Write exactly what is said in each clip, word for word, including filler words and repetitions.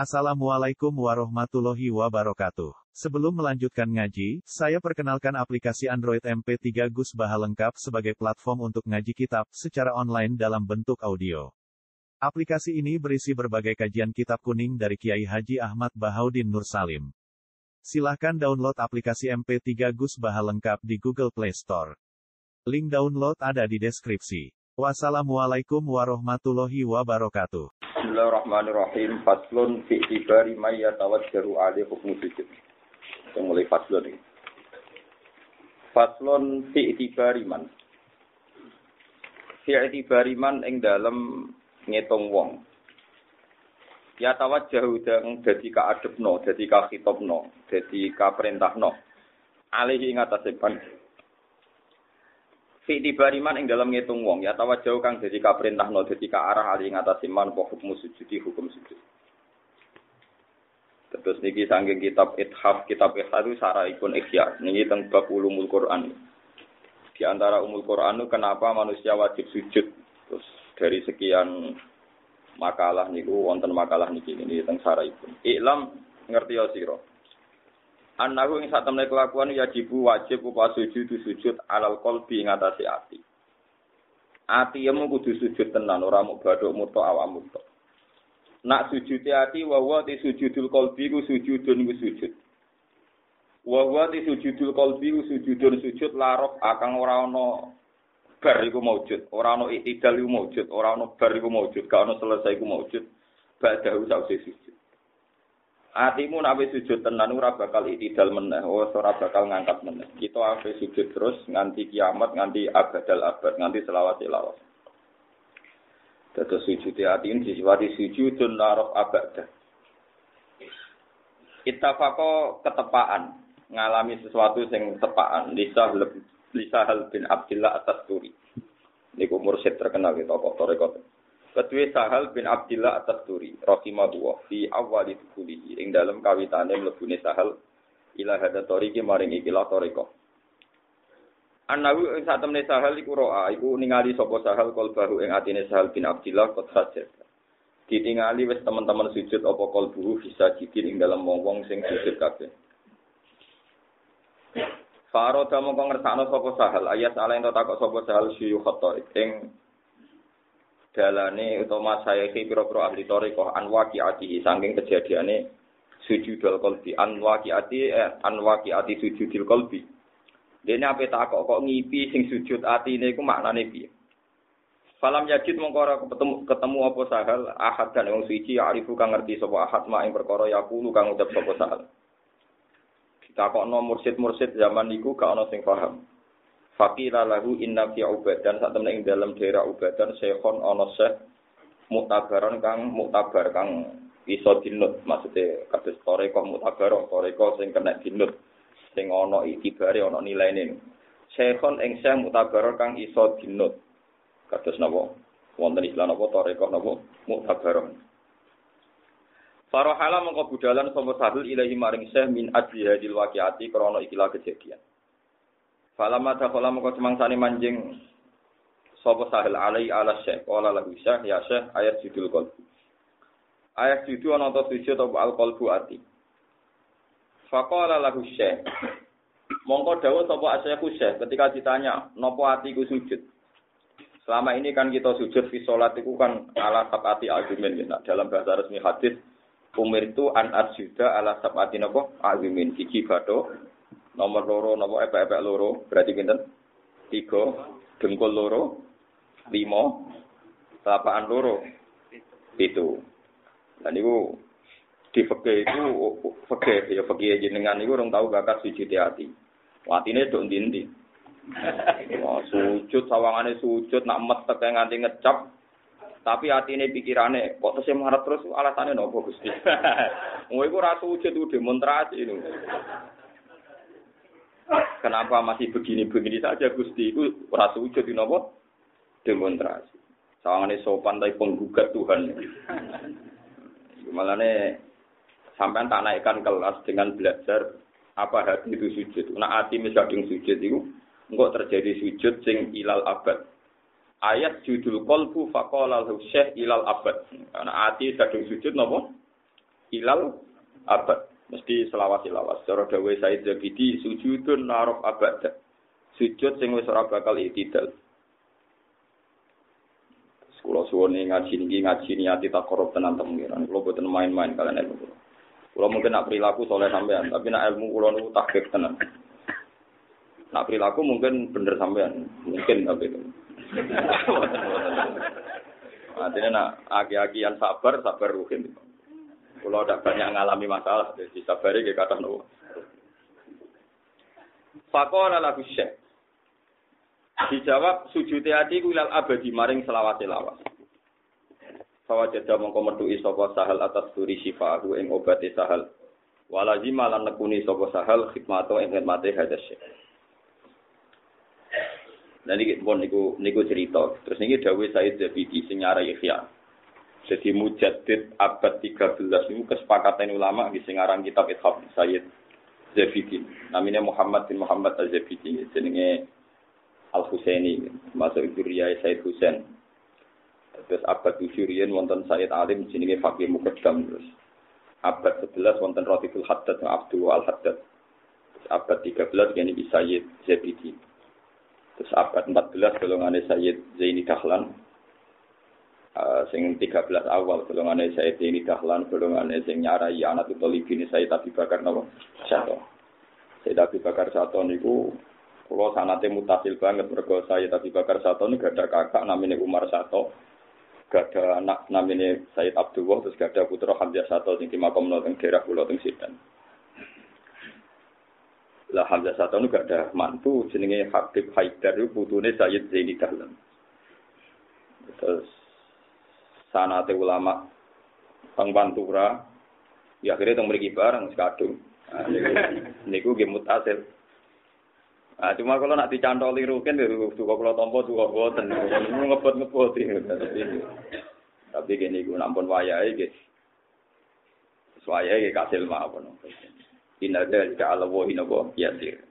Assalamualaikum warahmatullahi wabarakatuh. Sebelum melanjutkan ngaji, saya perkenalkan aplikasi Android M P tiga Gus Baha lengkap sebagai platform untuk ngaji kitab secara online dalam bentuk audio. Aplikasi ini berisi berbagai kajian kitab kuning dari Kiai Haji Ahmad Bahaudin Nur Salim. Silahkan download aplikasi M P tiga Gus Baha lengkap di Google Play Store. Link download ada di deskripsi. Wassalamualaikum warahmatullahi wabarakatuh. Bismillahirrahmanirrahim. Faslun fi ibari may yatawajjahu alaihi hukmu sujud. Kita mulai faslun ini. Faslun fi ibari man. Fi ibari man ing dalem ngitung wong. Yatawajjahu dang dadi kaadepno, dadi kakhitobno, dadi kaperintahno. Alaihi ing atase pan. Fi dibariman ing dalam ngitung wong ya tawajjau kang dadi kaperintahno dadi ka arah ali ing atase man apa hukum sujudi hukum sujud. Terus niki saking kitab Ithaf kitab Ithaf itu saraipun ikhya niki teng bab ulumul Quran. Di antara umul Quran itu kenapa manusia wajib sujud. Terus dari sekian makalah niku wonten makalah niki niki teng saraipun. Iklam ngerti ya sira. Annahu ing satemene kelakuan yajibu wajib upa sujud sujud alal qalbi ing atase ati. Ati yemu kudu sujud tenan ora mung badhok muto awakmu tok. Nak sujute ati wa wa ti sujudul qalbi ku sujudun ku sujud. Wa wa ti sujudul qalbi ku sujudun sujud larok akang ora ana bar iku maujud, ora ana iktidal iku maujud, ora ana bar iku maujud, gak ana selesai iku maujud. Ba'dahu sause sujud. Atimu nek wis sujud tenan ora bakal itidal meneh, ora bakal ngangkat meneh. Kita ape sujud terus nganti kiamat, nganti abadal abad, nganti selawat-selawat. Dados sujud ati ini disifati sujudun narok abadah. Ittafaqo ketepaan, ngalami sesuatu sing tepaan, lisah lisahal bin Abdillah At-Tasturi. Niku mursyid terkenal kita tokoh tarekat. Kedua Sahal bin Abdillah At-Tasturi rahimahullah fi awwali dukhulihi ing dalem kawitane mlebune Sahal ila hada tariqi maring ikilah tarekat. Anawi ing satemene Sahal iku roa iku ningali sapa Sahal qalbahu ing atine Sahal bin Abdillah qad sajad. Ditingali wis teman-teman sujud apa qalbuhu bisa jidin ing dalem wong-wong sing sujud kabeh. Faroda mongko ngersakno sapa Sahal ayat ala ento takok sapa Sahal syuyukh tarik ing dalane utawa saya iki pira-pira ahli thariqah anwaqiati saking kejadiane sujudul qalbi anwaqiati anwaqiati sujudul qalbi. Dene ape takok kok ngipi sing sujud atine iku maknane piye? Falam yajid mongko ora ketemu ketemu apa Sahal ahad dan wong suci arifu kang ngerti sapa ahad mak ing perkara yaqulu kang ucap sapa Sahal. Ditakokno mursyid-mursyid zaman niku gak ana sing paham. Faqila lahu inna fi ubadan sak temene ing dalam daerah ubadan syekhon ana syekh mutabaron kang mutabar kang iso dinut maksude kados tarekat mutabar tarekat sing kena dinut sing ana itibare ana nilaine syekhon ing syekh mutabar kang iso dinut kados napa wonten istilah napa tarekat napa mutabaron Farahala mongko budalan sapa sahul ilahi maring syekh min ajli hadil waqiati krana ikilah kejadian. Falama takhala moko semangsane manjing sapa Sahil alai ala syekh qala lahu syekh ya syekh ayat judul qalbi ayat judul ana ta sujud apa al qalbu ati faqala lahu syekh mongko dawuh sapa asyekhu syekh ketika ditanya napa atiku sujud selama ini kan kita sujud fi salat iku kan ala sabati azumin ya dalam bahasa resmi hadis umir itu an asjuda ala sabati napa azumin iki bathuk nomor loro napa epek-epek loro berarti pinten? tiga dengkul loro lima telapak loro itu. Dan niku di fikih itu fikih ya fikih jenengan niku urung tau bakat sujud ati. Atine nduk ndi-ndi. Wah, sujud sawangane sujud nak metek nganti ngecap tapi atine pikirane kok tesih marep terus alasane napa Gusti. Wong iku ora sujud ku demonstrasi itu. Kenapa masih begini-begini saja Gusti itu ora sujud napa demonstrasi. Sawangane sopan tapi penggugat Tuhan. Malane sampean tak naikkan kelas dengan belajar apa hati itu sujud. Nek ati wis kadung sujud iku engko terjadi sujud sing ilal abad. Ayat judul qalbu faqala lahu syekh ilal abad. Nek ati kadung sujud napa? ilal abad. Mesti selawas-selawas. Cara dawuh Said Zabidi sujudun naraf abad. Sujud sing wis ora bakal itidal. Kula suwune ngaji niki ngaji niati takorup tenan pengiran. Kula boten main-main kalian ilmu kula. Kula mungkin nak perilaku soleh sampean, tapi nak ilmu kula niku tahqiq tenan. Nak perilaku mungkin bener sampean, mungkin tapi itu. Artinya nak aki-akian sabar, sabar ruhin. Kalau tidak banyak mengalami masalah, jadi sabari ke kata nopo. Faqala lahu syekh. Dijawab sujud hati ilal abadi maring selawat-selawat. Fawajada mongko metuki sapa sahal atas duri syifahu ing obate sahal. Walazima lan nekuni sapa sahal khidmato ing khidmate hadza syekh. Nah niki pun niku niku cerita. Terus niki dawuh Said Zabidi sing nyarai Ihya. Jadi mujaddid abad tiga belas niku kesepakatan ulama di sing aran kitab Ithaf Said Zabidi. Namanya Muhammad bin Muhammad Al-Zabidi, jenenge Al-Husaini, masuk Zuriyah Said Husain. Terus abad tujuh riyen wonten Said Alim jenenge Faqih Muqaddam. Terus abad sebelas wonten Ratiful Haddad Abdul Al-Haddad. Terus abad tiga belas kene iki Said Zabidi. Terus abad empat belas golongane Sayyid Zaini Dahlan. Uh, sing tiga belas awal golongane Sayyid Zaini Dahlan, golongane sing nyarai anak Tolibin Sayyid Abi Bakar napa? Sato. Sayyid Abi Bakar Sato niku kula sanate mutasil banget mergo Sayyid Abi Bakar Sato niku gak ada kakak namine Umar Sato. Gak ada anak namine Sayyid Abdullah, terus gak ada putra Hamzah Sato sing dimakamno teng daerah kula teng Sidan. Lah Hamzah Sato itu gak ada mantu jenenge Habib Haidar itu putune Sayyid Zaini Dahlan. Terus sanate ulama Bang Pantura ya akhirnya teng mriki bareng sekadung. Nah, niku nggih mutasil. Ah cuma kalau nak dicantoli rukin duka kula tampa duka boten. Ngebot-ngebot iki. Tapi kene iku nampun wayahe nggih. Wayahe kasil mawon. Inna dzalika 'ala Allahi nabo yasir.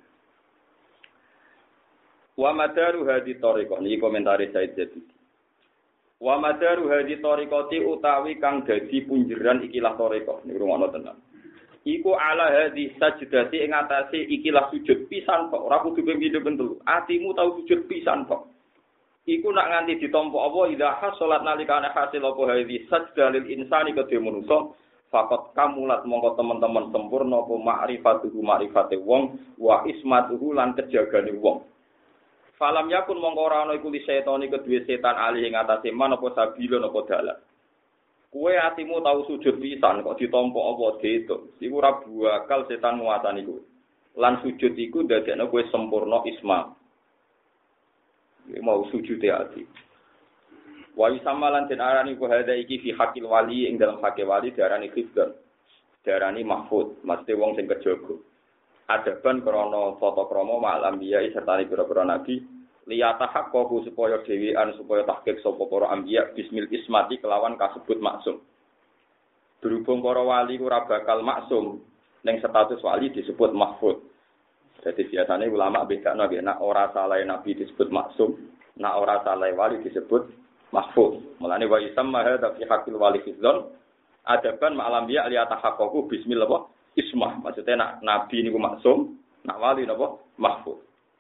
Wa madaru hadi thariqah niki komentare Said Zabidi. Wa madaru hadi thariqati utawi kang dadi punjeran ikilah thariqah niku rumono tenan. Iku ala hadi sajdati ing atase ikilah sujud pisan kok ora kudu ping telu. Atimu tau sujud pisan kok. Iku nak nganti ditampa apa ida hasolat nalikane hasil apa hadi sajdalil insani kedhe manungsa. Fakot kamulat mongko teman-teman sempurna apa ma'rifatuhu ma'rifate wong wa ismatuhu lan kejagane wong. Falam yakun mongko ora ana iku li setani kedue setan alih ing atase man apa sabila apa dalan. Kuwe atimu tau sujud pisan kok ditampa apa diitung. Iku ora bakal setan nguasani kuwe. Lan sujud iku ndadekno kuwe sempurna isma. Iki mau sujud ati. Wa isamalan den arani ku hada iki fi hakil wali ing dalam hakil wali diarani khifdan. Diarani mahfud, mesti wong sing kejaga. Adaban krana tata krama ma'al anbiya serta pira-pira nabi liyata haqqahu supaya dhewean supaya tahqiq sapa para anbiya bismil ismati kelawan kasebut maksum. Berhubung para wali ora bakal maksum ning status wali disebut mahfud. Jadi biasanya ulama bedakno nggih nek ora salah nabi disebut maksum, nek ora salah wali disebut mahfuz. Mulane wa isamma hadza fi haqqil wali fidzon adaban ma'alam ya li atahaqqaqu bismillah ismah. Maksudnya nak nabi niku maksum, nak wali napa mahfuz.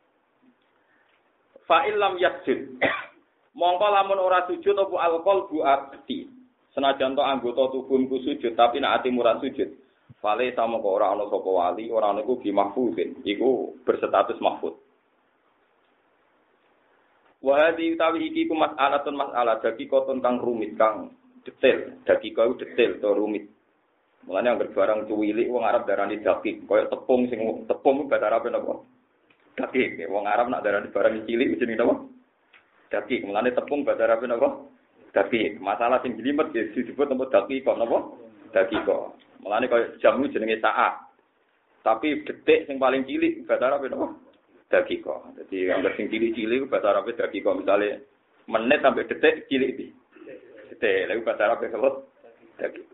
Fa illam yasjud. Mongko lamun ora sujud apa alqalbu ati. Senajan to anggota tubuhku sujud tapi nak ati murad sujud. Fale sama kok ora ana sapa wali, ora ana iku bi mahfuzin. Iku berstatus mahfuz. Wahadi utawi iki ku mas'alatun mas'alah dadi koton kang rumit kang detail, dadi kau detail to rumit. Mulane anggere barang cuwilik wong Arab darani dakik, koyo tepung sing tepung bahasa Arab napa? Dakik. Wong Arab nak darani barang cilik jenenge napa? Dakik. Mulane tepung bahasa Arab napa? Dakik. Masalah sing jelimet disebut napa dakik kok napa? Dakik kok. Mulane koyo jamu jenenge saat. Tapi detik sing paling cilik bahasa Arab napa? Dakiko. Jadi anggar sing cilik-cilik bahasa Arab dakiko misale menit sampai detik cilik iki. Detik, lha bahasa Arab apa? Dakiko.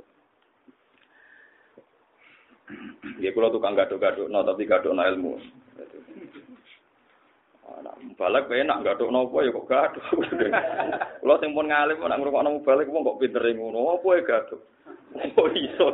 Ya kula tukang gaduk-gadukno tapi gadukno ilmu. Ana balik wae nak gadukno apa ya kok gaduk. Kula sing pun ngalim nak ngrungokno balik wong kok pinter ngono apa ya gaduk. Oh iso.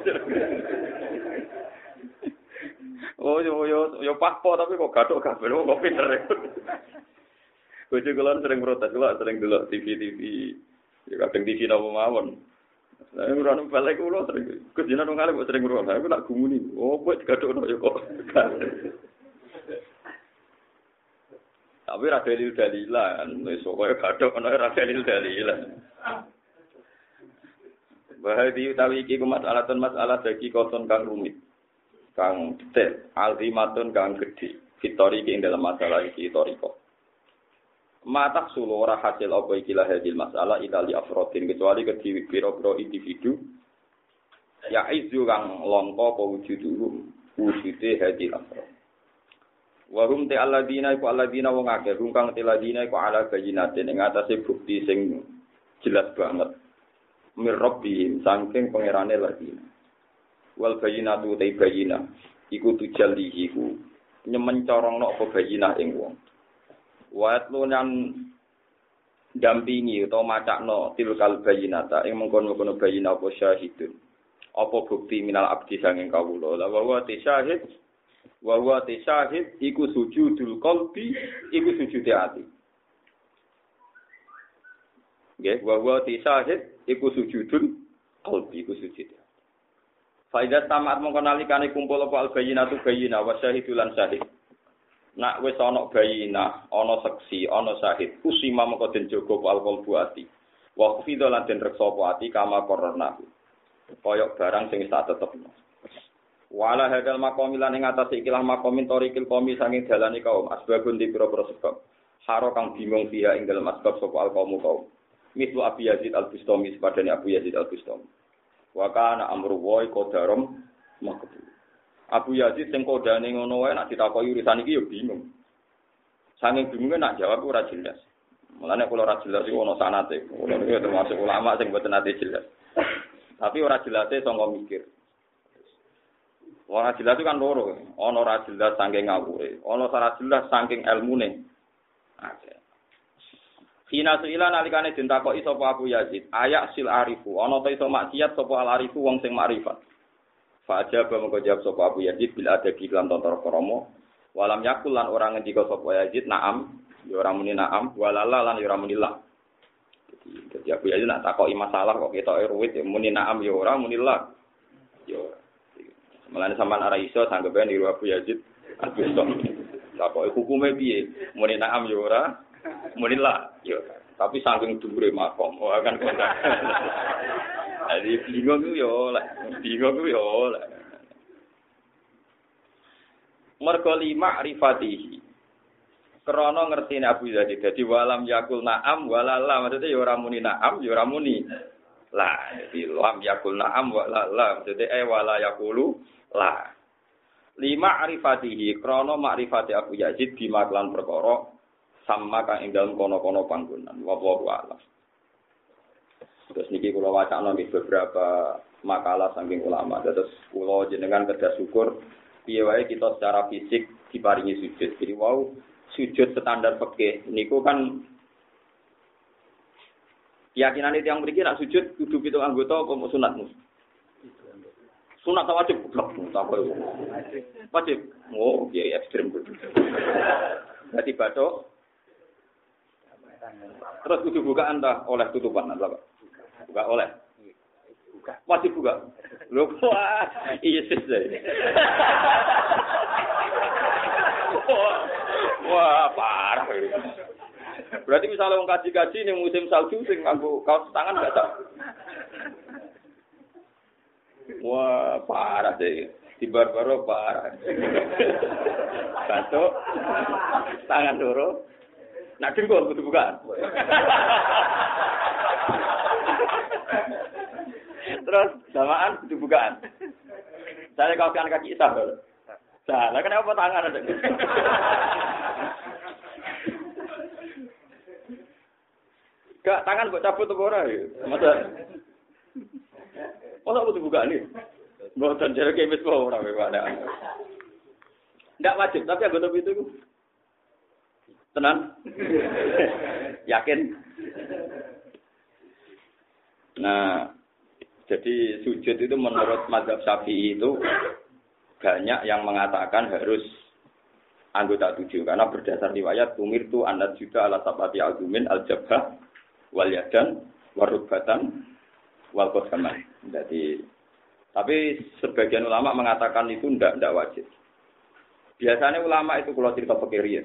Oh yo yo yo pakpo tapi kok gathuk kabeh kok pinter. Bojo kula sering protes, kula sering delok T V-T V. Ya kadang T V napa mawon. Lah ora nang balik kula sering. Gus jenengan nang kali kok sering ngrungokno. Aku nak gumuni. Oh kok digathukno ya kok. Tapi ra dalil dalilan, wis pokoke gathuk ana ra dalil dalilan. Bahadi utawi iki ku masalah masalah dadi koson kang rumit. Kang detail, alzimatun kang gedhe. Fitori ing dalam masalah iki toriko. Mata sulu ora hasil apa iki lah hadil masalah itali afrodin kecuali ke biro-biro individu ya izu kang longko apa wujuduhum wujude hadil afrod. Wa hum ta alladina iku alladina wong akeh hum kang teladina iku ala bayinatin ing atase bukti sing jelas banget. Mir rabbihim saking pangerane ladina. Wal bayinatu ta bayina iku tujallihi ku nyemen corongno apa bayinah ing wong. Wa lunan dampingi utawa macakno tilkal bayinata ing mengkono-kono bayina apa syahidun. Apa bukti minal abdi sanging kawula. La wa wa syahid wa wa syahid iku sujudul qalbi iku sujude ati. Nggih, wa wa syahid iku sujudul qalbi iku sujude. Faidah tamat mongko nalikane kumpul apa albayinatu bayina wa syahidulan syahid. Nak wis ana bayina, ana saksi, ana syahid, usima mongko den jaga alqal buati. Wa khufidha lan den reksa apa ati kama korona. Koyok barang sing tak tetepno. Wala hadal maqam lan ing atase ikilah maqamin torikil qomi sanging dalane kaum asbabun di pira-pira sebab. Haro kang bingung dia ing dalem asbab sapa alqaumu kaum. Mislu Abi Yazid Al-Bustami sepadane Abu Yazid Al-Bustami. Wa kana amru wa qadarum makbul. Abu Yazid sing kodane ngono wae nek ditakoki urusan iki ya bingung. Saking bingunge nak jawab ora jelas. Mulane kula ora jelas iku ana sanate. Kula niku termasuk ulama sing mboten ate jelas. Tapi ora jelase sangka mikir. Ora jelas itu kan loro. Ana ora jelas saking ngawure, ana ora jelas saking elmune. Oke. Hina suila nalikane den takoki sapa Abu Yazid, ayak sil arifu, ana ta iso maksiat sapa al arifu wong sing makrifat. Fa ajaba mengko jawab sapa Abu Yazid bil adabi lan tontor kromo, walam yakul lan ora ngendika sapa Yazid naam, ya ora muni naam, walala lan ya ora muni la. Jadi Abu Yazid nak takoki masalah kok ketoke ruwit ya muni naam ya ora muni la. Ya ora. Mulane sampean ora iso sanggepe niru Abu Yazid Al-Bustami. Takoki hukume piye? Muni naam ya ora, muni la. Ya tapi saking dhuwure makom, oh akan kontak. Jadi bingung ku yo lek, bingung ku yo lek. Mergo lima rifatihi. Krana ngertine Abu Yazid dadi walam yakul na'am walala maksudnya ya ora muni na'am ya ora muni la. Jadi lam yakul na'am walala maksudnya eh wala yakulu la. Lima rifatihi krana makrifati Abu Yazid bimaklan perkara sama kang ing dalem kono-kono panggonan. Wallahu a'lam. Terus niki kula wacana nggih beberapa makalah saking ulama. Terus kula jenengan kedah syukur piye wae kita secara fisik diparingi sujud. Jadi wow sujud standar fikih niku kan keyakinan itu yang mriki nak sujud kudu pitung anggota apa sunat mus. Sunat ta wajib blok ta apa iku. Wajib. Oh, piye ekstrem kudu. Dadi bathuk. Terus kudu bukaan ta oleh tutupan apa? Buka oleh. Buka. Wajib buka. Lho wah, iya sih. Wah, parah. Berarti misalnya wong kaji-kaji ning musim salju sing nganggo kaos tangan enggak tak. Wah, parah deh. Di barbaro parah. Satu tangan loro. Nak dengkul kudu bukaan. Terus samaan kudu bukaan. Saya kaos kaki isah. Salah kenapa tangan ada? Gak tangan kok cabut tuh ora ya. Masa Masa kudu buka nih. Mboten jare kemis kok ora wae. Ndak wajib, tapi anggota itu tenan. Yakin? Nah, Jadi sujud itu menurut mazhab Syafi'i itu banyak yang mengatakan harus anggota tujuh karena berdasar riwayat tumir tu anad juta ala sabati azumin al jabhah wal yadan warubatan wal qasman. Jadi tapi sebagian ulama mengatakan itu ndak ndak wajib. Biasanya ulama itu kalau cerita fikih ya.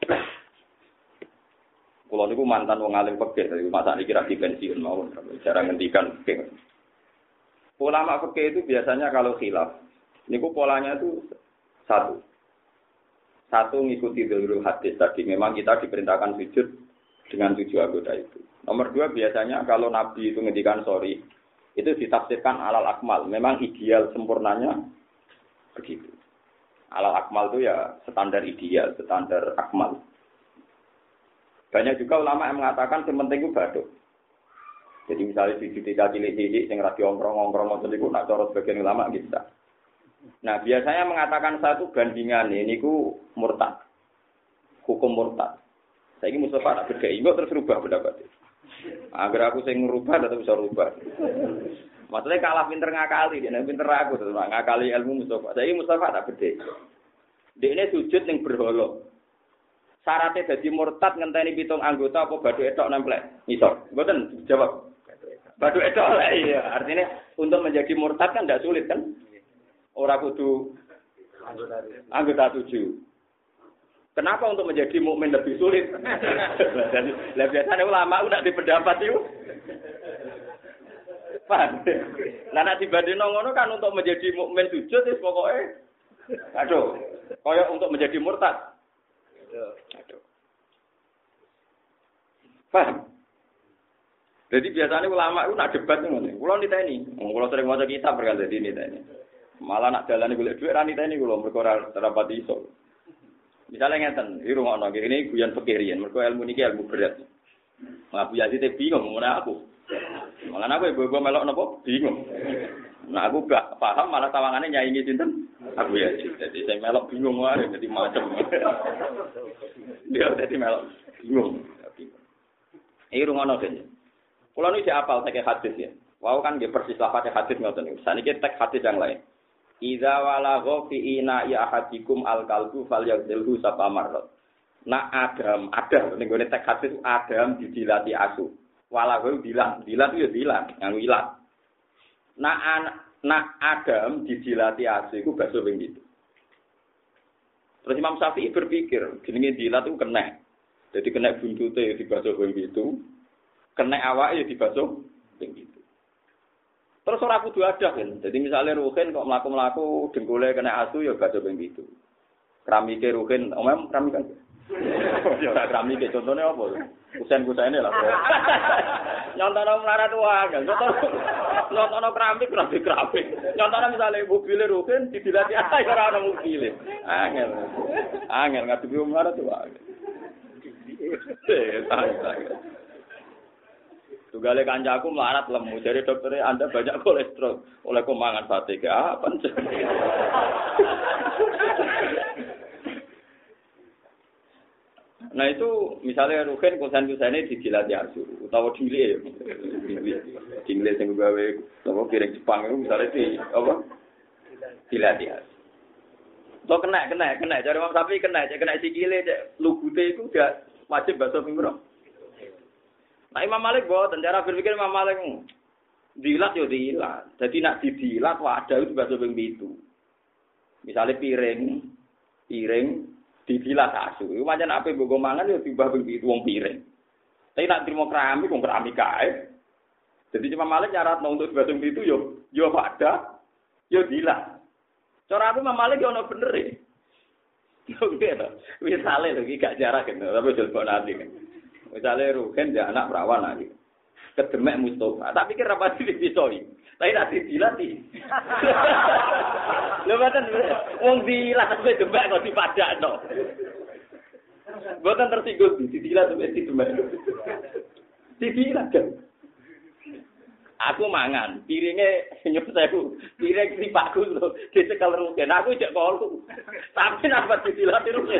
Kalau niku mantan wong alim fikih, jadi masa niki ra pensiun mawon, cara ngendikan fikih. Ulama fikih itu biasanya kalau khilaf, niku polanya itu satu. Satu ngikuti dzahirul hadis tadi, memang kita diperintahkan sujud dengan tujuh anggota itu. Nomor dua biasanya kalau Nabi itu ngendikan sorry, itu ditafsirkan alal akmal, memang ideal sempurnanya begitu. Alal akmal itu ya standar ideal, standar akmal. Banyak juga ulama yang mengatakan yang penting itu baduk. Jadi misalnya di ketika cilik-cilik yang radio ongkrong-ongkrong ngoten niku nak cara sebagian ulama gitu. Nah, biasanya mengatakan satu bandingan ini ku murtad. Hukum murtad. Saiki Mustafa tak beda, engko terus rubah pendapat. Agar aku sing ngrubah tetep bisa rubah. Maksudnya kalah pinter ngakali, dia pinter aku terus ngakali ilmu Mustafa. Saiki Mustafa tak beda. Dekne sujud ning berhala. Syaratnya jadi murtad ngenteni pitung anggota apa badu etok nemplek ngisor. Mboten jawab. Badu etok lah iya. Artinya untuk menjadi murtad kan tidak sulit kan? Ora kudu anggota, anggota tujuh. Kenapa untuk menjadi mukmin lebih sulit? Lah biasanya ulama udah di pendapat itu. Paham? Lah nek dibandingno ngono kan untuk menjadi mukmin sujud wis pokoke aduh, kaya untuk menjadi murtad. Aduh. Paham? Jadi biasanya ulama itu nak debat ngene. Kula niteni, kula sering maca kitab berkali dadi niteni. Malah nak dalane golek dhuwit ra niteni kula mergo ora rapat iso. Misalnya ngeten, iki rungokno ini guyon fikih riyen, mergo ilmu niki ilmu berat. Ngaku ya sithik bingung ngene aku. Malah aku ibu-ibu melok napa bingung. Nah aku gak paham malah tawangane nyaingi sinten? Aku ya jadi saya melok bingung wae dadi macem. Dia dadi melok bingung. Iki rungono kene. Kula nu sik apal teke hadis ya. Wau kan nggih persis lafate hadis ngoten niku. Saniki tek hadis yang lain. Idza walagha fi ina ya ahadikum al-qalbu falyaghsilhu sapamarrat. Nak Adam, Adam ning gone tek hadis Adam didilati asu. Walagha dilat, dilat yo dilat, nganggo ilat. Nak nak Adam didilati asu iku bakso ping pitu. Terus Imam Syafi'i berpikir, jenenge dilat itu kena. Jadi kena buntute dibasuh ping pitu, kena awake dibasuh ping pitu. Terus ora kudu adah kan. Jadi misalnya Ruhin kok mlaku-mlaku dengkule kena asu ya basuh ping pitu. Keramike Ruhin, omem keramik kan. Ya ora keramike contone apa? Kusen-kusene lah. Nyontono melarat wae, nyontono keramik keramik keramik. Nyontono misalnya mobil Ruhin didilati ae ora ana mobil. Angel. Angel ngadepi melarat wae. Eh, tak. Tugale kancaku melarat lemu, jadi dokternya Anda banyak kolesterol, oleh kemangan sate ke apa? Nah itu misalnya Ruhin konsen-konsennya didilati asu, utawa dile, dile yang gawe, apa piring Jepang itu misalnya di apa? Dilati asu. So kena, kena, kena. Cari Imam Syafi'i kena, kena sikile, lugute itu dia wajib basuh pinggir. Nah Imam Malik boten cara berpikir Imam Malik dilat yo dilat. Jadi nak didilat wadah itu basuh ping pitu. Misale piring, piring didilat asu. Iku pancen ape mbok mangan yo timbah ping pitu wong piring. Tapi nak trimo keramik wong keramik kae. Jadi Imam Malik nyaratno untuk basuh ping pitu yo yo wadah yo dilat. Cara aku Imam Malik yo ono bener e. Oke to. Wis sale lho iki gak jarak kan, tapi jel kok nanti kan. Misalnya Ruhin dia anak perawan lagi, kedemek Mustafa. Tak pikir apa sih dipisoi, tapi tak dilatih. Lho boten, wong dilat kowe demek kok dipadakno. Boten tersinggung didilat wis didemek. Didilat kan. Aku mangan, piringe nyup sewu, piring sipakku lho, dicekel Ruhin. Aku jek kolu. Tapi napa didilat Ruhin?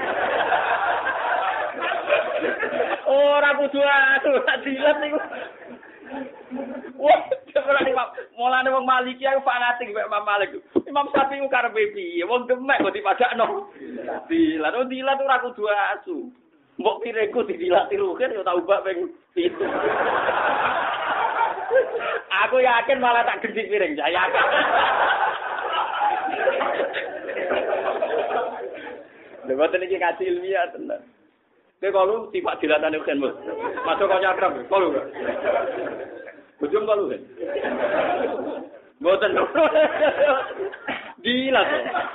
Ora kudu aku tak dilat niku. Wah, Mulane wong Maliki aku fanatik mek Imam Malik. Imam Syafi'i ku karepe piye? Wong demek kok dipadakno. Dilat, oh dilat ora kudu asu. Mbok pireku didilati rugen ya tau bak ping pitu. Aku yakin malah tak gendhi piring, saya yakin. Lewat ini kaji ilmiah tenan. Kowe kalau tiba dilatane kan Mas. Masuk kok nyakrab, kalau enggak. Bujum kalau kan. Mboten. Dilat.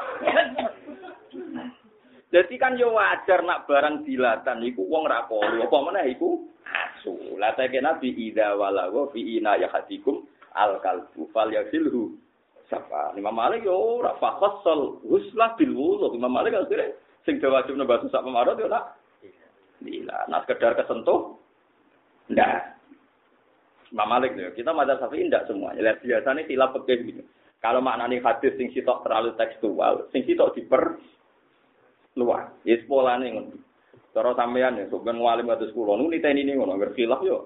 Jadi kan yo wajar nak barang dilatan iku wong ra kolu, apa meneh iku asu. La ta Nabi idza walawa fi ina yahatikum al kalbu fal yasilhu. Sapa Imam Malik yo ora fakhassal huslah bil wudu. Imam Malik akhire sing wajib nembah sak pemarot yo nak. Lila, nah sekedar kesentuh ndak. Imam Malik yo kita mazhab Syafi'i ndak semuanya. Lihat biasanya silap fikih gitu. Kalau maknane hadis sing sitok terlalu tekstual, sing sitok diper luar. Yes polane ngono. Cara sampean ya sok ben walim kados kula niku niteni niku ngono, ngerti khilaf yo.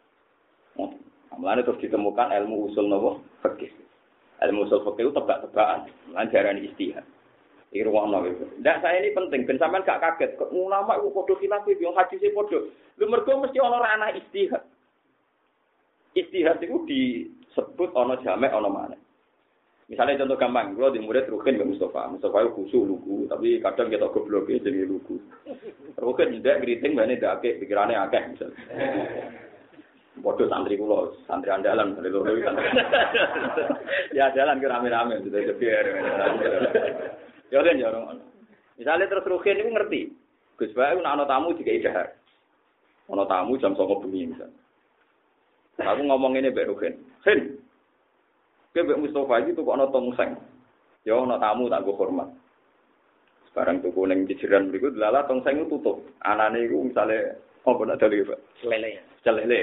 Amlane terus ditemukan ilmu usul nopo fikih. Ilmu usul fikih itu tebak-tebakan, lan jarane istihad. Iki ruwono gitu. Ndak saya ini penting ben sampean gak kaget. Ulama iku padha khilaf yo hadise padha. Lho mergo mesti ana ranah istihad. Istihad itu disebut ana jamek ana maneh. Misalnya contoh gampang, kalau di murid Rukin ke Mustafa, Mustafa itu khusyuk lugu, tapi kadang kita gobloknya jadi lugu. Rukin tidak keriting, ini tidak akeh, pikirannya akeh misalnya. Bodoh santri kulo, santri andalan, santri loro santri. Ya jalan ke rame-rame, sudah biar. Ya kan ya orang. Misalnya terus Rukin itu ngerti, Gus Bae itu ana tamu juga idahar. Ana tamu jam sembilan bengi misalnya. Aku ngomong ini Mbak Rukin, Hin. Mbak Mustafa itu kok ana tongseng. Ya ana tamu tak go hormat. Sekarang tuku ning jejeran mriku lala tongseng itu tutup. Anane iku misale apa nak dali, Pak? Lele. Lele.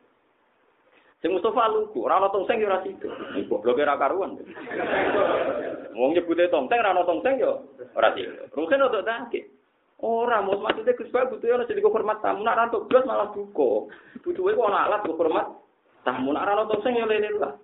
Sing Mustafa lugu, ora ana tongseng ya ora sido. Gobloke ra karuan. Wong nyebute tongseng ora ana tongseng ya ora sido. Rugen otok take. Ora, mus maksudnya Gus Bae butuh ana jadi hormat tamu, nak rantuk blas malah duka. Butuhe kok ana alat go hormat tamu, nak ana tongseng ya lele lah.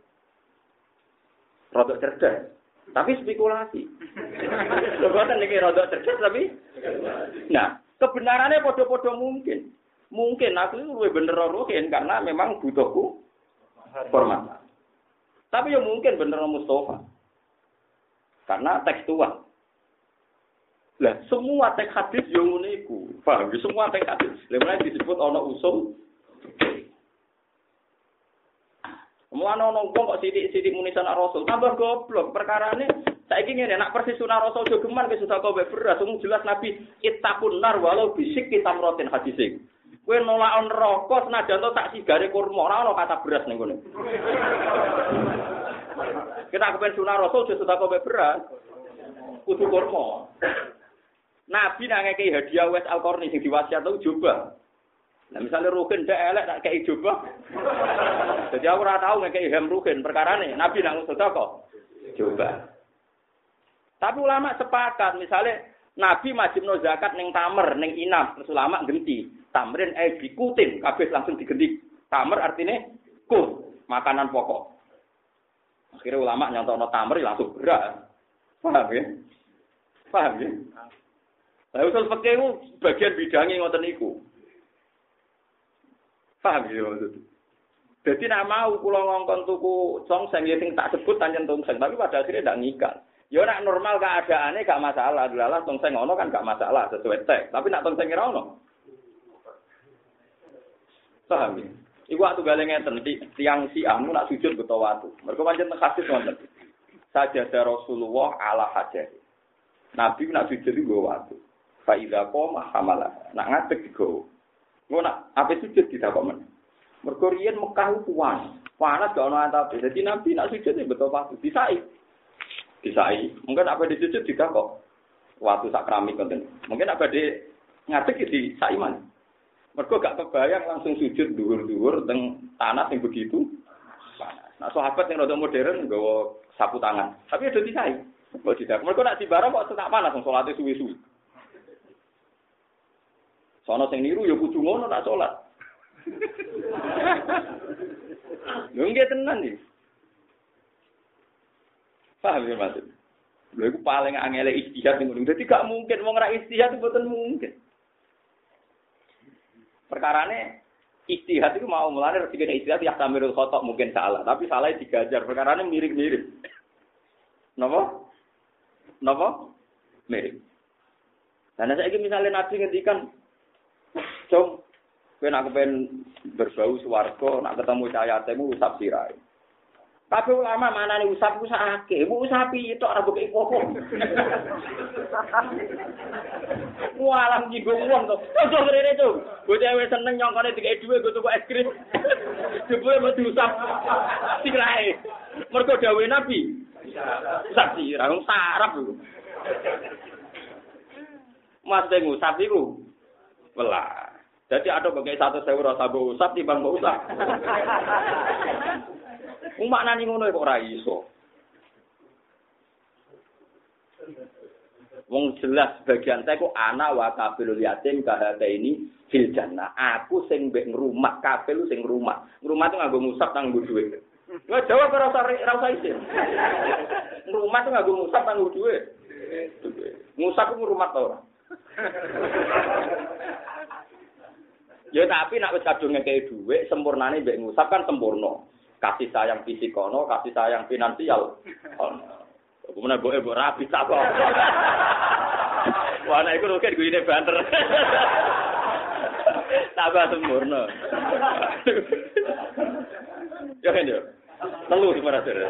Rodok cerdas, tapi spekulasi. Lebaran ini rodok cerdas tapi, nah kebenarannya podo-podo mungkin, mungkin aku itu lebih bener Ruhin karena memang butuhku format. Tapi ya mungkin bener Mustafa karena tekstual. Lah semua teks hadis yang uniku, paham? Semua teks hadis, lemahnya disebut ono usul. Mulane ana wong kok sithik-sithik muni sunah Rasul, tambah goblok. Perkarane saiki ngene, nek persis sunah Rasul jogeman ke sudah kowe beras, wong jelas Nabi ittaqun nar walau bisik kitamrotin hadise. Kowe nolak neraka senajan to tak sigare kurma, ora ana kata beras ning kene. Kita kepen sunah Rasul sudah kowe beras, kudu kurma. Nabi nang ngekei hadiah wes Al-Qarni sing diwasiat tau coba. Nah misalnya Rukin ndak elek tak kei coba. Jadi aku ora tau ngekei hem Rukin perkarane Nabi nang sedekah. Coba. Tapi ulama sepakat misalnya Nabi wajibno zakat ning tamer ning inam, terus ulama genti. Tamrin eh dikutin kabeh langsung digenti. Tamer artinya kut, makanan pokok. Akhirnya ulama nyontokno tamer langsung beras. Paham ya? Paham ya? Lah usul fikih itu bagian bidange ngoten niku. Paham ya maksud. Jadi nak mau kula ngongkon tuku tongseng ya sing tak sebut pancen tongseng, tapi pada akhirnya ndak ngikal. Ya nak normal keadaannya gak masalah, delalah tongseng ono kan gak masalah sesuai teks, tapi nak tongseng ora ono. Paham ya? Iku waktu gale ngeten tiang siamu nak sujud beto watu. Mergo pancen hadis wonten. Sajadah Rasulullah ala hajah. Nabi nak sujud iku watu. Fa idza qoma hamala. Nak ngadeg digo. Ngono nak ape sujud ditakok men. Mergo riyen Mekah ku panas. Panas gak ono atap. Dadi Nabi nak sujud beto watu. Disai. Disai. Mungkin apa disujud ditakok. Watu sak keramik ngoten. Mungkin apa di ngadeg di saiman. Mergo gak kebayang langsung sujud dhuwur-dhuwur teng tanah sing begitu panas. Nah sahabat yang rada modern nggawa sapu tangan. Tapi ada disai. Kok tidak. Mergo nak dibara kok tak panas wong salate suwi-suwi. Sono sing niru ya kudu ngono nak salat. Lho nggih tenan iki. Paham ya maksud? Lha iku paling angel ijtihad ngono. Dadi gak mungkin wong ra ijtihad itu mboten mungkin. Perkarane ijtihad itu mau mulane rezeki ijtihad ya tamirul khotok mungkin salah, tapi salah digajar. Perkarane mirip-mirip. Napa? Napa? Mirip. Nah, saiki misale Nabi ngendikan, "Cung, kowe nek kepen berbau swarga, nek ketemu cahayatemu usap sirahe." Tapi ulama manane usap ku sakake, mu usapi tok ora bukek apa-apa. Walang jinggung wong to. Ojo ngrene to. Bocah wis seneng nyongkone dikek dhuwit go tuku es krim. Jebule mau diusap sirahe. Mergo dawuhe Nabi. Usap sirah wong sarap lho. Mas teng usap iku. Welah. Jadi ada bukek satu sewu rasa mbok usap timbang mbok usap. Umak nani ngono kok ora iso. Wong jelas bagian saya kok ana wa kafilul yatim kahate ini fil jannah. Aku sing mbek ngrumat kafil sing ngrumat. Ngrumat itu nganggo musab nang nggo dhuwit. Wah jawab ora usah ora usah isin. Ngrumat itu nganggo musab nang nggo dhuwit. Musab ku ngrumat ta ora? Ya tapi nek wis kadung ngekeki dhuwit sempurnane mbek ngusap kan sempurna. Kasih sayang fisik ono, kasih sayang finansial ono. Kemudian boe mbok rapi tak apa. Wah nek iku roket guyine banter. Tambah sempurna. Yo kan yo. Telu sebenarnya.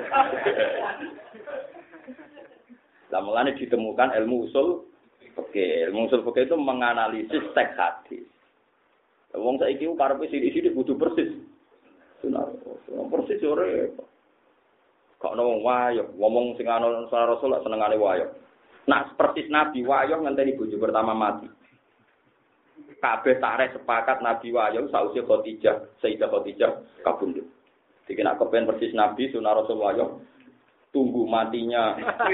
Lah mulane ditemukan ilmu usul fikih. Ilmu usul fikih itu menganalisis teks hadis. Wong saiki ku karepe sithik-sithik kudu persis. Sunnah persis ora. Kok ono wong wayo, ngomong sing ana Rasul senengane wayo. Nak persis Nabi wayo ngenteni bojo pertama mati. Kabeh tareh sepakat Nabi wayo sausi Khadijah, Sayyidah Khadijah kabundut. Dikira nak kepen persis Nabi sunah Rasul wayo tunggu matinya.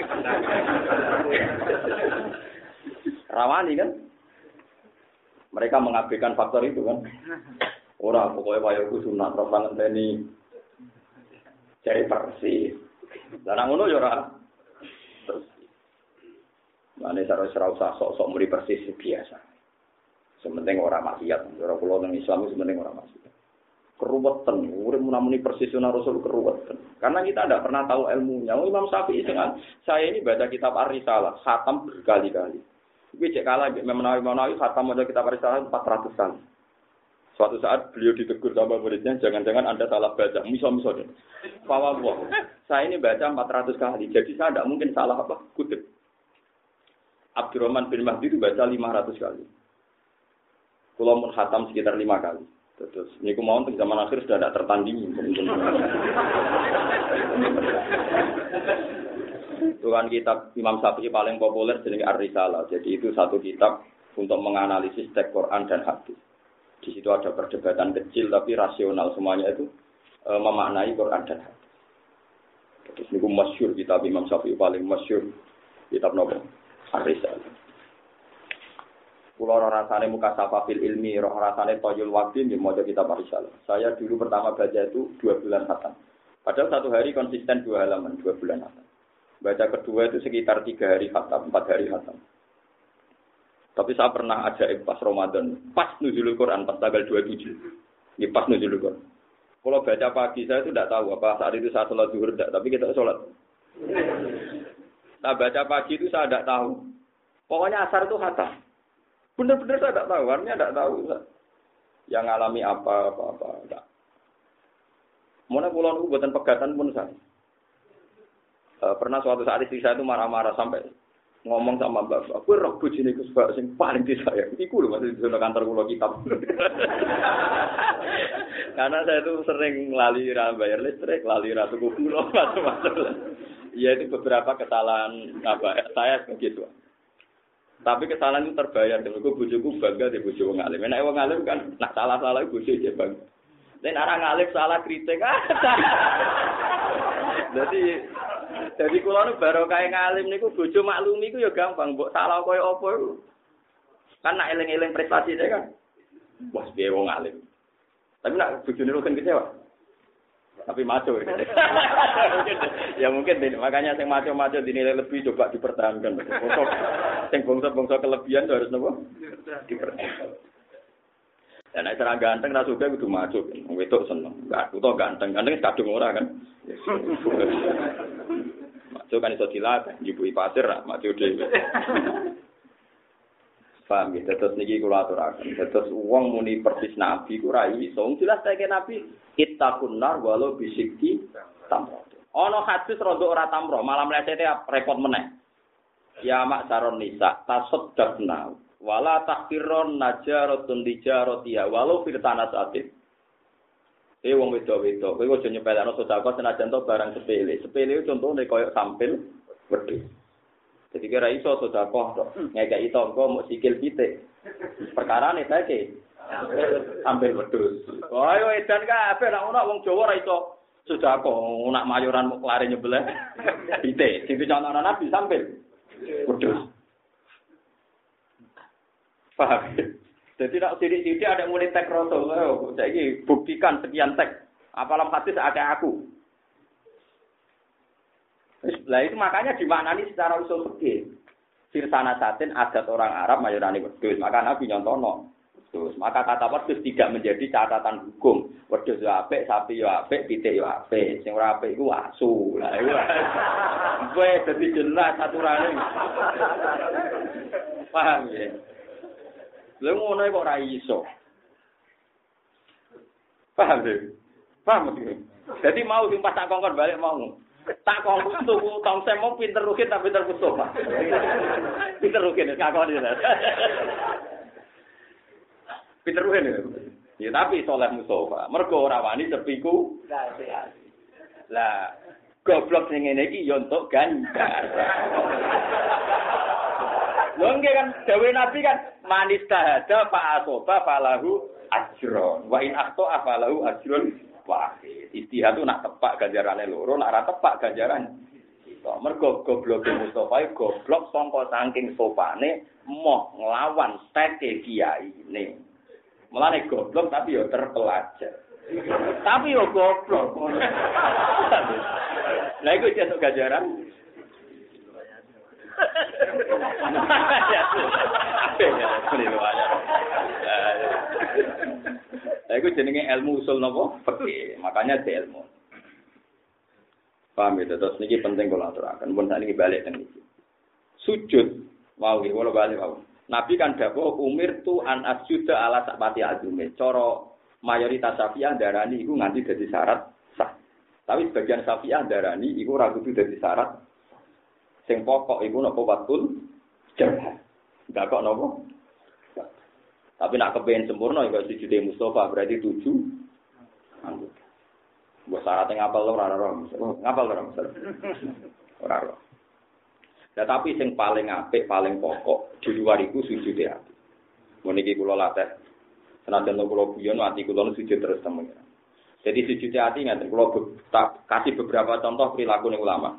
Rawani kan? Mereka mengabaikan faktor itu kan. Ora pokoknya wayaku sunat terus ngenteni cari persis. Lah nang ngono ya ora persis. Mane cara ora usah sok-sok muri persis biasa. Sementing ora maksiat. Ora kula nang Islam sementing ora maksiat. Keruwetan, urip munamuni persis sunah Rasul keruwetan. Karena kita tidak pernah tahu ilmunya. Imam Syafi'i dengan saya ini baca kitab Ar-Risalah, khatam berkali-kali. Iki cek kalah Imam Nawawi khatam baca kitab Ar-Risalah empat ratus kali. Suatu saat beliau ditegur sama muridnya, jangan-jangan Anda salah baca. Misal-misal. Fawwah, saya ini baca empat ratus kali, jadi saya tidak mungkin salah apa kutip. Abdurrahman bin Mahdi itu baca lima ratus kali. Kulo mun khatam sekitar lima kali. Terus, ini mau untuk zaman akhir sudah tidak tertandingi. Itu kan kitab Imam Syafi'i paling populer jenenge Ar-Risalah. Jadi itu satu kitab untuk menganalisis teks Quran dan hadis. Di situ ada perdebatan kecil tapi rasional semuanya itu e, memaknai Quran dan hadis. Terus niku masyhur kitab Imam Syafi'i paling masyhur kitab nopo Ar-Risalah. Kula ora rasane muka safa fil ilmi, ora rasane toyul waqti nggih maca kitab Ar-Risalah. Saya dulu pertama baca itu dua bulan khatam. Padahal satu hari konsisten dua halaman, dua bulan khatam. Baca kedua itu sekitar tiga hari khatam, empat hari khatam. Tapi saya pernah ajaib pas Ramadan, pas nuzulul Quran, pas tanggal dua puluh tujuh. Ini pas nuzulul Quran. Kalau baca pagi saya itu tidak tahu apa saat itu saya sholat zuhur tidak, tapi kita sholat. Saya baca pagi itu saya tidak tahu. Pokoknya asar itu khatam. Benar-benar saya tidak tahu, artinya tidak tahu. Yang alami apa-apa. Tidak. Mana pulau itu buatan pegatan pun saya. E, pernah suatu saat istri saya itu marah-marah sampai ngomong sama bapak, aku roh bojone iku sing paling disayang. Iku lho masih di kantor kula kitab. Karena saya itu sering lali ra bayar listrik, lali ra tuku gula, macam-macam. Ya itu beberapa kesalahan apa saya begitu. Tapi kesalahan itu terbayar. Dulu bojoku bangga di bojo wong alim. Nek wong alim kan nak salah-salah bojo aja bangga. Nek ora ngalim salah kritik. Jadi Jadi kula nu baru kae ngalim niku bojo maklumi iku ya gampang, mbok salah koyo apa iku. Kan nak eling-eling prestasine kan. Wah, piye wong alim. Tapi nak bojone lu kan kecewa. Tapi maco. Ya mungkin makanya yang maco-maco dinilai lebih coba dipertahankan. Bongso, yang bongso-bongso kelebihan harus nopo? Dipertahankan. Dan nek serang ganteng ra suka kudu maco. Wedok seneng. Enggak, utawa ganteng. Ganteng kadung ora kan. Maco kan iso dilatih, njupui pasir ra maco dhewe. Paham ya, terus niki kula aturaken. Terus wong muni persis nabi ku ra iso. Jelas saiki nabi ittaqun nar walau bisikki tamro. Ana hadis rada ora tamro, malah mlecete repot meneh. Ya mak saron nisa tasaddaqna wala tahqiron najaratun dijaratia walau firtana satin. Eh wong wedok-wedok, kowe aja nyepelekno sedekah senajan to barang sepele. Sepele contone koyo sampil wedhus. Jadi kira iso sedekah to. Ngekeki tangga muk sikil pitik. Perkarane saiki ambil wedhus. Oh ayo edan kabeh nek ana wong Jawa ora iso sedekah, nak mayoran muk lare nyebelah pitik. Sing dicontohno Nabi sambil wedhus. Paham? Jadi nak sidik-sidik ada mulai tek rasul. Oh, saiki buktikan sekian tek. Apalam hadis ada aku. Lah itu makanya dimaknani secara usul fikih. Firsana satin adat orang Arab mayorane wedhus. Maka Nabi nyontono. Terus maka kata wedhus tidak menjadi catatan hukum. Wedhus yo apik, sapi yo apik, pitik yo apik. Sing ora apik iku asu. Lah iku. Wes dadi jelas aturane. Paham ya? Lha ngono kok ora iso. Paham deh. Paham deh. Jadi mau sing pas tak kongkon balik mau. Tak kongkon tuku tong semo pinter rukin tapi pinter Mustafa. Pinter rukin kakon iki. Pinter rukin. Ya tapi soleh Mustafa. Mergo ora wani sepiku. Lah goblok sing ngene iki yo entuk ganjar. Lho nggih kan dawuh Nabi kan manis tahada fa asoba falahu ajron wa in akhta falahu ajrun wahid. Istihad itu nak tepak ganjarane loro, nak ora tepak ganjaran. To mergo gobloke Mustofa goblok sangka saking sopane moh nglawan teke kiyaine. Mulane goblok tapi yo terpelajar. Tapi yo goblok. Lah iku jeneng ganjaran. Lah iku jenenge ilmu usul napa? Fikih. Makanya di ilmu. Paham ya, terus niki penting kula aturaken. Mun sakniki balik teng iki. Sujud mau nggih kula balik mau. Nabi kan dawuh umir tu an asjuda ala sakpati azume. Cara mayoritas Syafi'iyah darani iku nganti dadi syarat sah. Tapi sebagian Syafi'iyah darani iku ora kudu dadi syarat. Sing pokok iku napa watul jabah. Enggak kok napa? Tapi nak kepengen sempurna ya sujude Mustafa berarti tujuh anggota. Mbok syaratnya ngapal ora ora. Ngapal ora Mas. Ora ora. Nah, tapi sing paling apik, paling pokok di luar iku sujude ati. Mun iki kula latih. Senajan kula guyon ati kula sujud terus temen. Jadi sujude ati ngaten kula tak kasih beberapa contoh perilaku ning ulama.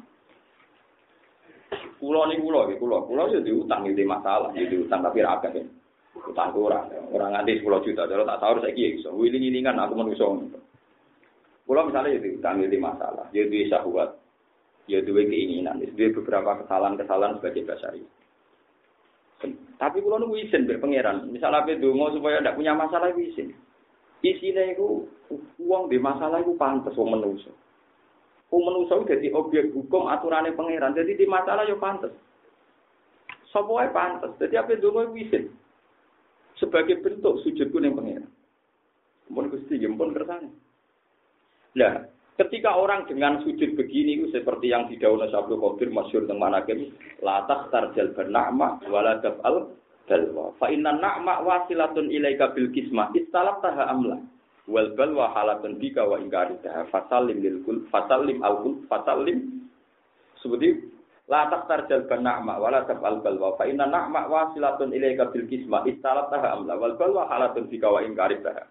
Kula niku kula iki kula, kula yo diutang iki masalah, yo diutang tapi ra akeh. Utang ora, ora nganti sepuluh juta, cara tak sahur saiki iso. Wiling-wilingan aku menungso. Kula misale yo diutang iki masalah, yo duwe syahwat, yo duwe keinginan, duwe beberapa kesalahan-kesalahan sebagai basari. Tapi kula niku izin mbek pangeran, misale ape donga supaya ndak punya masalah iku izin. Isine iku wong di masalah iku pantes wong menungso. Wong menungso dadi objek hukum aturane pangeran. Jadi di masalah yo pantes. Sapa wae pantes. Dadi ape donga wisin. Sebagai bentuk sujudku ning pangeran. Mun Gusti nggih pun kersane. Nah, ketika orang dengan sujud begini itu seperti yang didhawuhna Syaikhul Qadir masyhur teng manaqib, la tastarjal bana'ma wala taf'al dalwa. Fa inna na'ma wasilatun ilaika bil kismah istalaftaha amla. Wal balwa halatun bika wa ingkarita fasallim lil kul fasallim al kul fasallim seperti la taqtarjal bana'ma wala taf'al balwa fa inna na'ma wasilatun ilaika bil kisma istalataha amla wal balwa halatun bika wa ingkarita.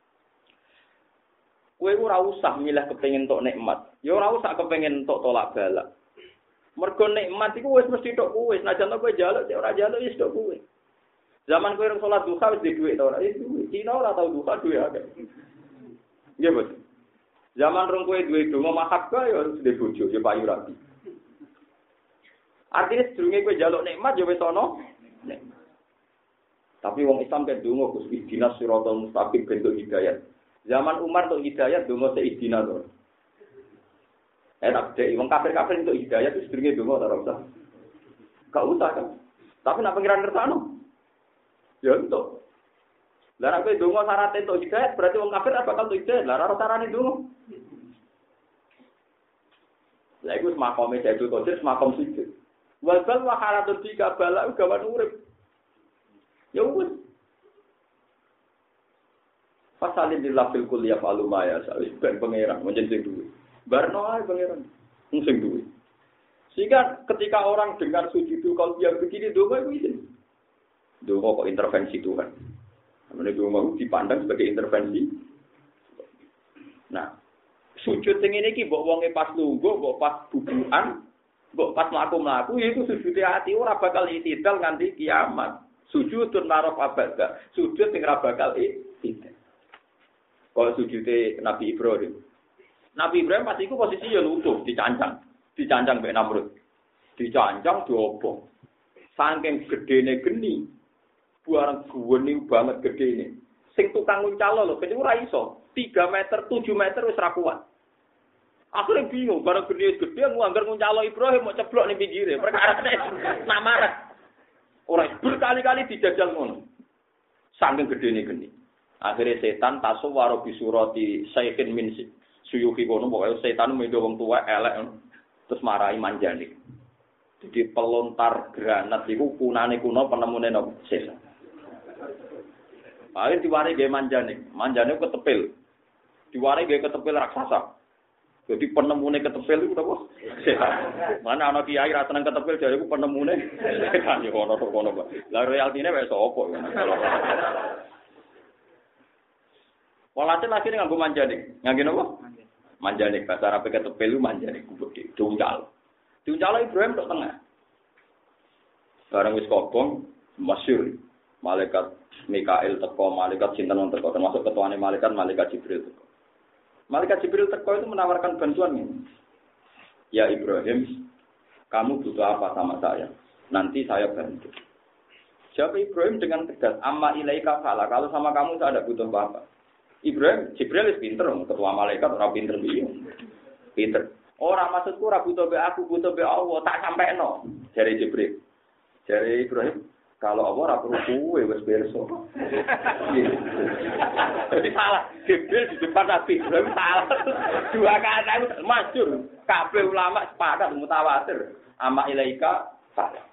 Kowe ora usah milih kepengin tok nikmat ya ora usah kepengin tok tolak balak mergo nikmat iku wis mesti tok kowe senajan kowe njaluk cek ora njaluk wis tok kowe. Zaman kowe salat duha wis duwe dhuwit ora? Wis duwe. Cina ora tau duha duwe akeh. Nggih, Bos. Zaman rong kowe duwe donga mahabbah ya duwe bojo ya payu rabi. Artinya sedurunge kowe njaluk nikmat ya wis ana nikmat. Tapi wong Islam kan donga Gus ihdinas siratal mustaqim bentuk hidayah. Zaman Umar untuk hidayah donga se ihdina to. Enak deh, wong kafir-kafir untuk hidayah itu sedurunge donga ora usah. Gak usah kan. Tapi nak pengiran kersano. Ya untuk. Lah nek kowe donga syarat entuk hidayah berarti wong kafir apa bakal entuk hidayah. Lah ora carane donga. Lah iku makome Sayyidul Qadir makom sujud. Wal bal wa halatul tika bala gawan urip. Ya wis. Fasalin lillah fil kulli yaf'alu ma yasha. Ben pangeran menjen sing duwe. Barno ae pangeran. Sing duwe. Sehingga ketika orang dengar sujud kalau dia begini donga itu izin. Donga kok intervensi Tuhan. Namanya donga dipandang sebagai intervensi. Nah, sujud sing ngene iki mbok wonge pas lungguh, mbok pas bubukan, mbok pas mlaku-mlaku itu sujud ati ora bakal itidal nganti kiamat. Sujudun naraf abada. Sujud sing ora bakal itidal. Kalau sujudé Nabi Ibrahim. Nabi Ibrahim pas iku posisi ya lungguh, dicancang, dicancang mbek Namrud. Dicancang diobong. Saking gedene geni. Buareng guweni banget gedene. Sing tukang nguncalo lho, ben ora iso. tiga meter, tujuh meter wis ra kuat. Akhirnya bingung, barang gede-gede nganggar nguncalo Ibrahim mau ceblok ning pinggire. Perkarane namarat. Ora berkali-kali dijajal ngono. Saking gedene geni. Akhirnya setan tasawwara bisurati sayyin min suyuhi kono pokoke setan mendo wong tuwa elek terus marahi Manjani. Jadi pelontar granat iku kunane kuno penemune napa setan. Akhir diwari gawe Manjani. Manjani ketepil. Diwari gawe ketepil raksasa. Jadi penemune ketepil iku napa? Setan. Mana ana kiai ra seneng ketepil jare iku penemune setan yo ono to kono. Lah realtine wis sapa ya. Walhasil lagi nganggo Manjani. Nganggo napa? Manjani bahasa Arab ketepil Manjani gede. Diuncal. Diuncal Ibrahim tok tengah. Barang wis kobong masyhur malaikat Mikail teko, malaikat sinten teko, termasuk ketuane malaikat malaikat Jibril teko. Malaikat Jibril teko itu menawarkan bantuan ini. Ya Ibrahim, kamu butuh apa sama saya? Nanti saya bantu. Jawab Ibrahim dengan tegas, amma ilaika fala, kalau sama kamu saya tidak butuh apa-apa. Ibrahim, Jibril itu pinter, ketua malaikat orang pinter dia. Pinter. Orang maksudku ora butuh be aku, butuh be Allah, tak sampeno. Jare Jibril. Jare Ibrahim, kalau Allah ora perlu kuwe wis berso. Jadi salah. Jibril di depan Nabi Ibrahim salah. Dua kata masyhur. Kabeh ulama sepakat mutawatir. Amma ilaika salah.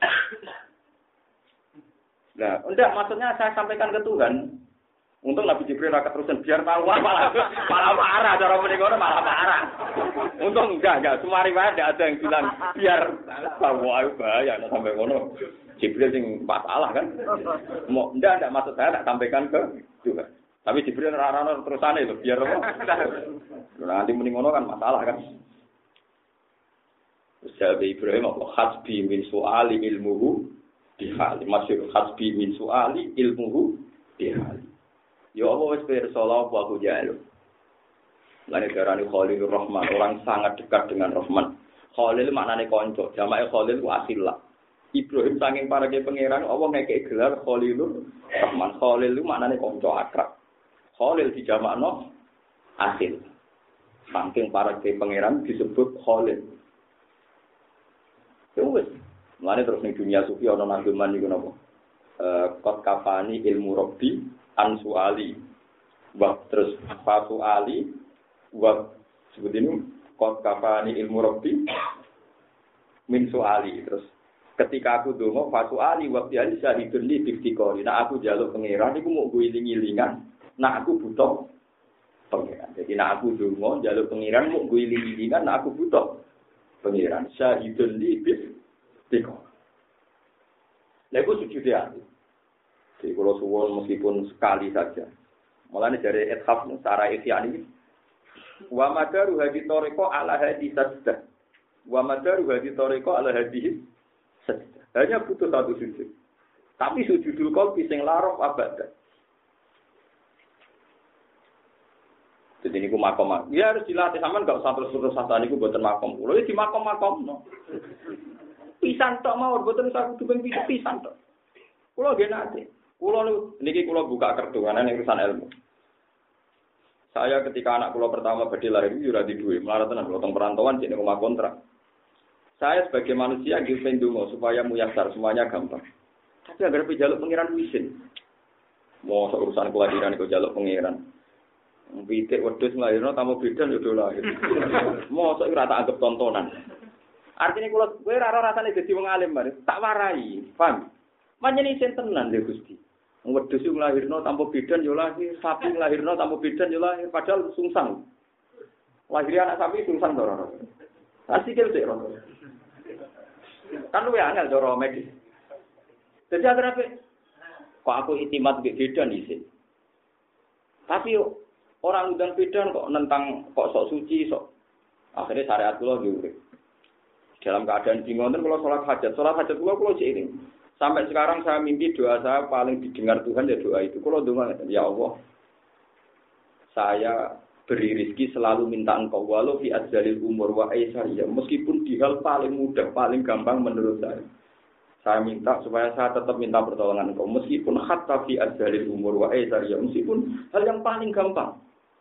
Nah, enggak maksudnya saya sampaikan ke Tuhan. Untuk Nabi Jibril rakyat terusan biar tahu malah malah marah cara menikono malah marah. Untung enggak enggak semua riwayat enggak ada yang bilang biar bahwa bahaya sampai ngono. Jibril sing masalah kan. Mau enggak enggak maksud saya tak sampaikan ke juga. Tapi Jibril rarano terusane lho biar apa. Nanti muni ngono kan masalah kan. Usaha Ibrahim apa hasbi min suali ilmuhu bihali. Masyhur hasbi min suali ilmuhu bihali. Ya Allah wis pirsa apa aku jalu. Lan darani Khalilur Rahman, orang sangat dekat dengan Rahman. Khalil maknane kanca, jamake Khalil ku asilah. Ibrahim saking parake pangeran Allah ngekeki gelar Khalilur Rahman. Khalil itu maknane kanca akrab. Khalil dijamakno asil. Saking parake pangeran disebut Khalil. Ya wis. Mulane terus ning dunia sufi ana nanggeman niku napa? Eh qad kafani ilmu rabbi ansu ali wa terus fasu ali wa sebut ini qad kafani ilmu rabbi min suali terus ketika aku donga fasu ali wa biali syahidun li biftikori nah aku njaluk pangeran iku mau guling-gilingan nah aku butuh pangeran jadi nah aku donga njaluk pangeran mau guling-gilingan nah aku butuh pangeran syahidun li biftikori lha iku sujud ati. Jadi kalau suwon meskipun sekali saja. Mulanya dari ethaf secara ihya ini. Wa madaru hadi toriko ala hadi sajdah. Wa madaru hadi toriko ala hadi sajdah. Hanya butuh satu sujud. Tapi sujudul qalbi sing larof abada. Jadi niku makom. Ya harus dilatih sampean enggak usah terus-terus sasane niku mboten makom. Kulo iki di makom-makomno. Pisan tok mawon mboten usah kudu ping pisan tok. Kulo nggih nate. Kulo niki kulo buka kertu ana ning urusan ilmu. Saya ketika anak kulo pertama badhe lahir iki ora di duwe, melarat tenan kulo teng perantauan jenenge omah kontrak. Saya sebagai manusia nggih pendonga supaya muyasar semuanya gampang. Tapi agar pejaluk pengiran wisin. Mau urusan kelahiran iku jaluk pengiran. Pitik wedhus nglairno tamu bidan yo lahir. Mosok ora tak anggap tontonan. Artinya kula kowe ora ora rasane dadi wong alim bare, tak warai, paham? Manjen isen tenan lho Gusti. Wedhus nglairno tanpa bidan yo lahir, sapi nglairno tanpa bidan yo lahir, padahal sungsang. Lahir anak sapi sungsang to ora. Asikil sik ora. Kan luwe angel cara medis. Dadi akhirnya kok aku itimat mbek bidan isin. Tapi orang undang bidan kok nentang kok sok suci sok. Akhirnya syariat kula nggih. Dalam keadaan bingung kalau sholat hajat, sholat hajat kula kula seiring. Sampai sekarang saya mimpi doa saya paling didengar Tuhan ya doa itu. Kalau doa ya Allah, saya beri rezeki selalu minta Engkau walau fi adzalil umur wa aisariyah. Meskipun di hal paling mudah, paling gampang menurut saya. Saya minta supaya saya tetap minta pertolongan Engkau meskipun hatta fi adzalil umur wa aisariyah, meskipun hal yang paling gampang.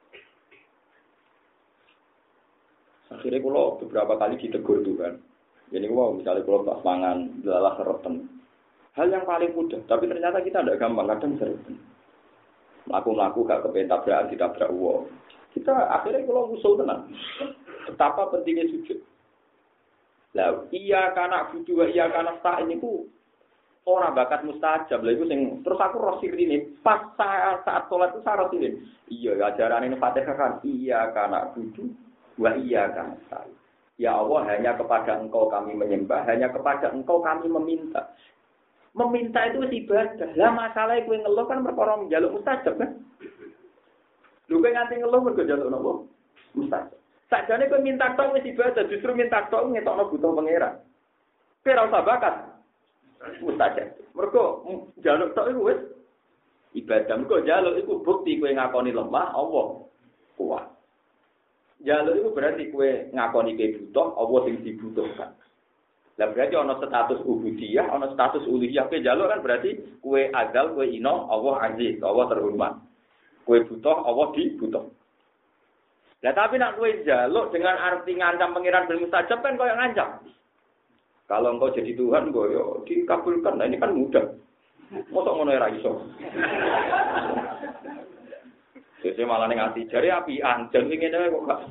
Akhirnya kalau beberapa kali ditegur Tuhan. Jadi wow, misalnya kalau pas mangan, adalah serotan. Hal yang paling mudah, tapi ternyata kita tidak gampang, kadang serotan. Melaku-melaku gak kepengen tabrakan, ditabrak wow. Kita akhirnya kalau usul tenang. Betapa pentingnya sujud. Lah, iya karena budu, iya karena sta ini ku orang bakat mustajab. Lah itu sing terus aku rosir ini pas saya saat sholat itu saya rosir ini. Iya ajaran ini Fatihah kan. Iya karena budu. Wa iya kan saya. Ya Allah, hanya kepada Engkau kami menyembah, hanya kepada Engkau kami meminta. Meminta itu ibadah. Lah masalahnya kowe ngeluh kan perkara njaluk mustajab kan? Lho kowe nganti ngeluh mergo njaluk napa? Mustajab. Sakjane kowe minta tok wis ibadah, justru minta tok ngetokno butuh pangeran. Kowe ora usah bakat. Mustajab. Mergo njaluk tok iku wis ibadah. Mergo njaluk iku bukti kowe ngakoni lemah Allah kuat. Jaluk itu berarti kue ngakoni kue butuh, Allah sing dibutuhkan. Lah berarti ana status ubudiyah, ana status uluhiyah. Kue jaluk kan berarti kue azal, kue ino, Allah aziz, Allah terhormat. Kue butuh, Allah dibutuh. Lah tapi nak kue jaluk dengan arti ngancam pangeran bil mustajab kan kau yang ngancam. Kalau engkau jadi Tuhan, kau yo dikabulkan. Nah ini kan mudah. Mosok ngono ora iso. Sese malah ning ati jare apian, jan ngene kok gak.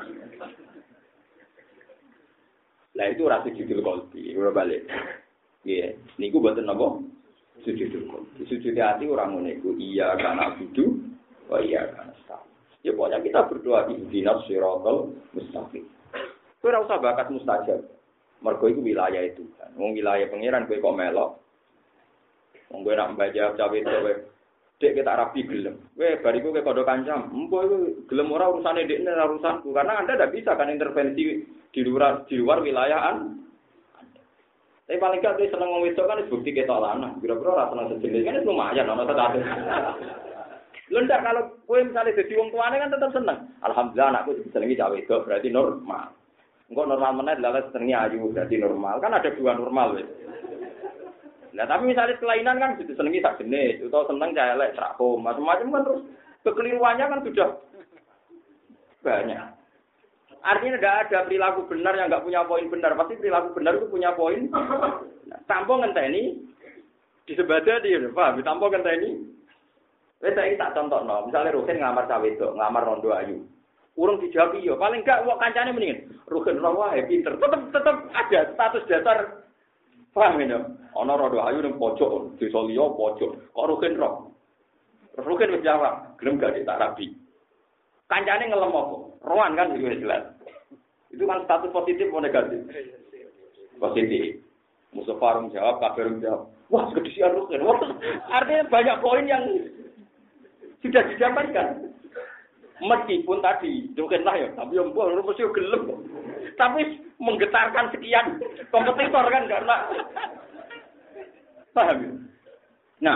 Lah itu ora sujudul qalbi, ora balik. Nggih, niku mboten napa? Sujudul qalbi. Sujud ati ora ngono iku. Iya kana budu, wa iya kana sta. Ya pokoknya kita berdoa ihdinas siratal mustaqim. Kowe ora usah bakat mustajab. Mergo iku wilayah itu kan. Wong wilayah pangeran kowe kok melok. Wong kowe nak mbaca cawe kowe dek kita rapi gelem. Weh, bariku ke kodok kancam. Empo itu gelem ora urusane dekne ora urusanku. Karena Anda tidak bisa kan intervensi di luar di luar wilayah Anda. Tapi paling gak dia seneng wong wedok kan bukti ketok lanang. Kira-kira ora seneng sejenis kan lumayan ana status. Lha ndak kalau kowe misale dadi wong tuane kan tetap seneng. Alhamdulillah anakku disenengi cah wedok berarti normal. Engko normal meneh lha senengi ayu berarti normal. Kan ada dua normal wis. Nah tapi misalnya kelainan kan sudah senengi sak jenis, atau seneng cah elek, trakom, macam-macam kan terus kekeliruannya kan sudah banyak. Artinya tidak ada perilaku benar yang nggak punya poin benar. Pasti perilaku benar itu punya poin. Nah, tanpa ngenteni disebada dia, paham? Tanpa ngenteni. Wes saiki tak contohno, misalnya Ruhin ngamar cah wedok, ngamar rondo ayu. Urung dijawab iya, paling enggak wong kancane mendingin. Ruhin ora wae pinter. Tetep tetep ada status dasar. Paham ya? Ana rondo ayu ning pojok, desa liya pojok. Kok Ruhin ro? Ruhin wis jawab, gelem gak tak rabi. Kancane ngelem apa? Rohan kan itu jelas. Itu kan status positif atau negatif? Positif. Musuh Farung jawab, Kabir jawab. Wah, kedisian Ruhin. Artinya banyak poin yang sudah didapatkan. Meskipun tadi Ruhin lah ya, tapi yang mbok mesti gelem. Tapi menggetarkan sekian kompetitor kan karena paham. Nah,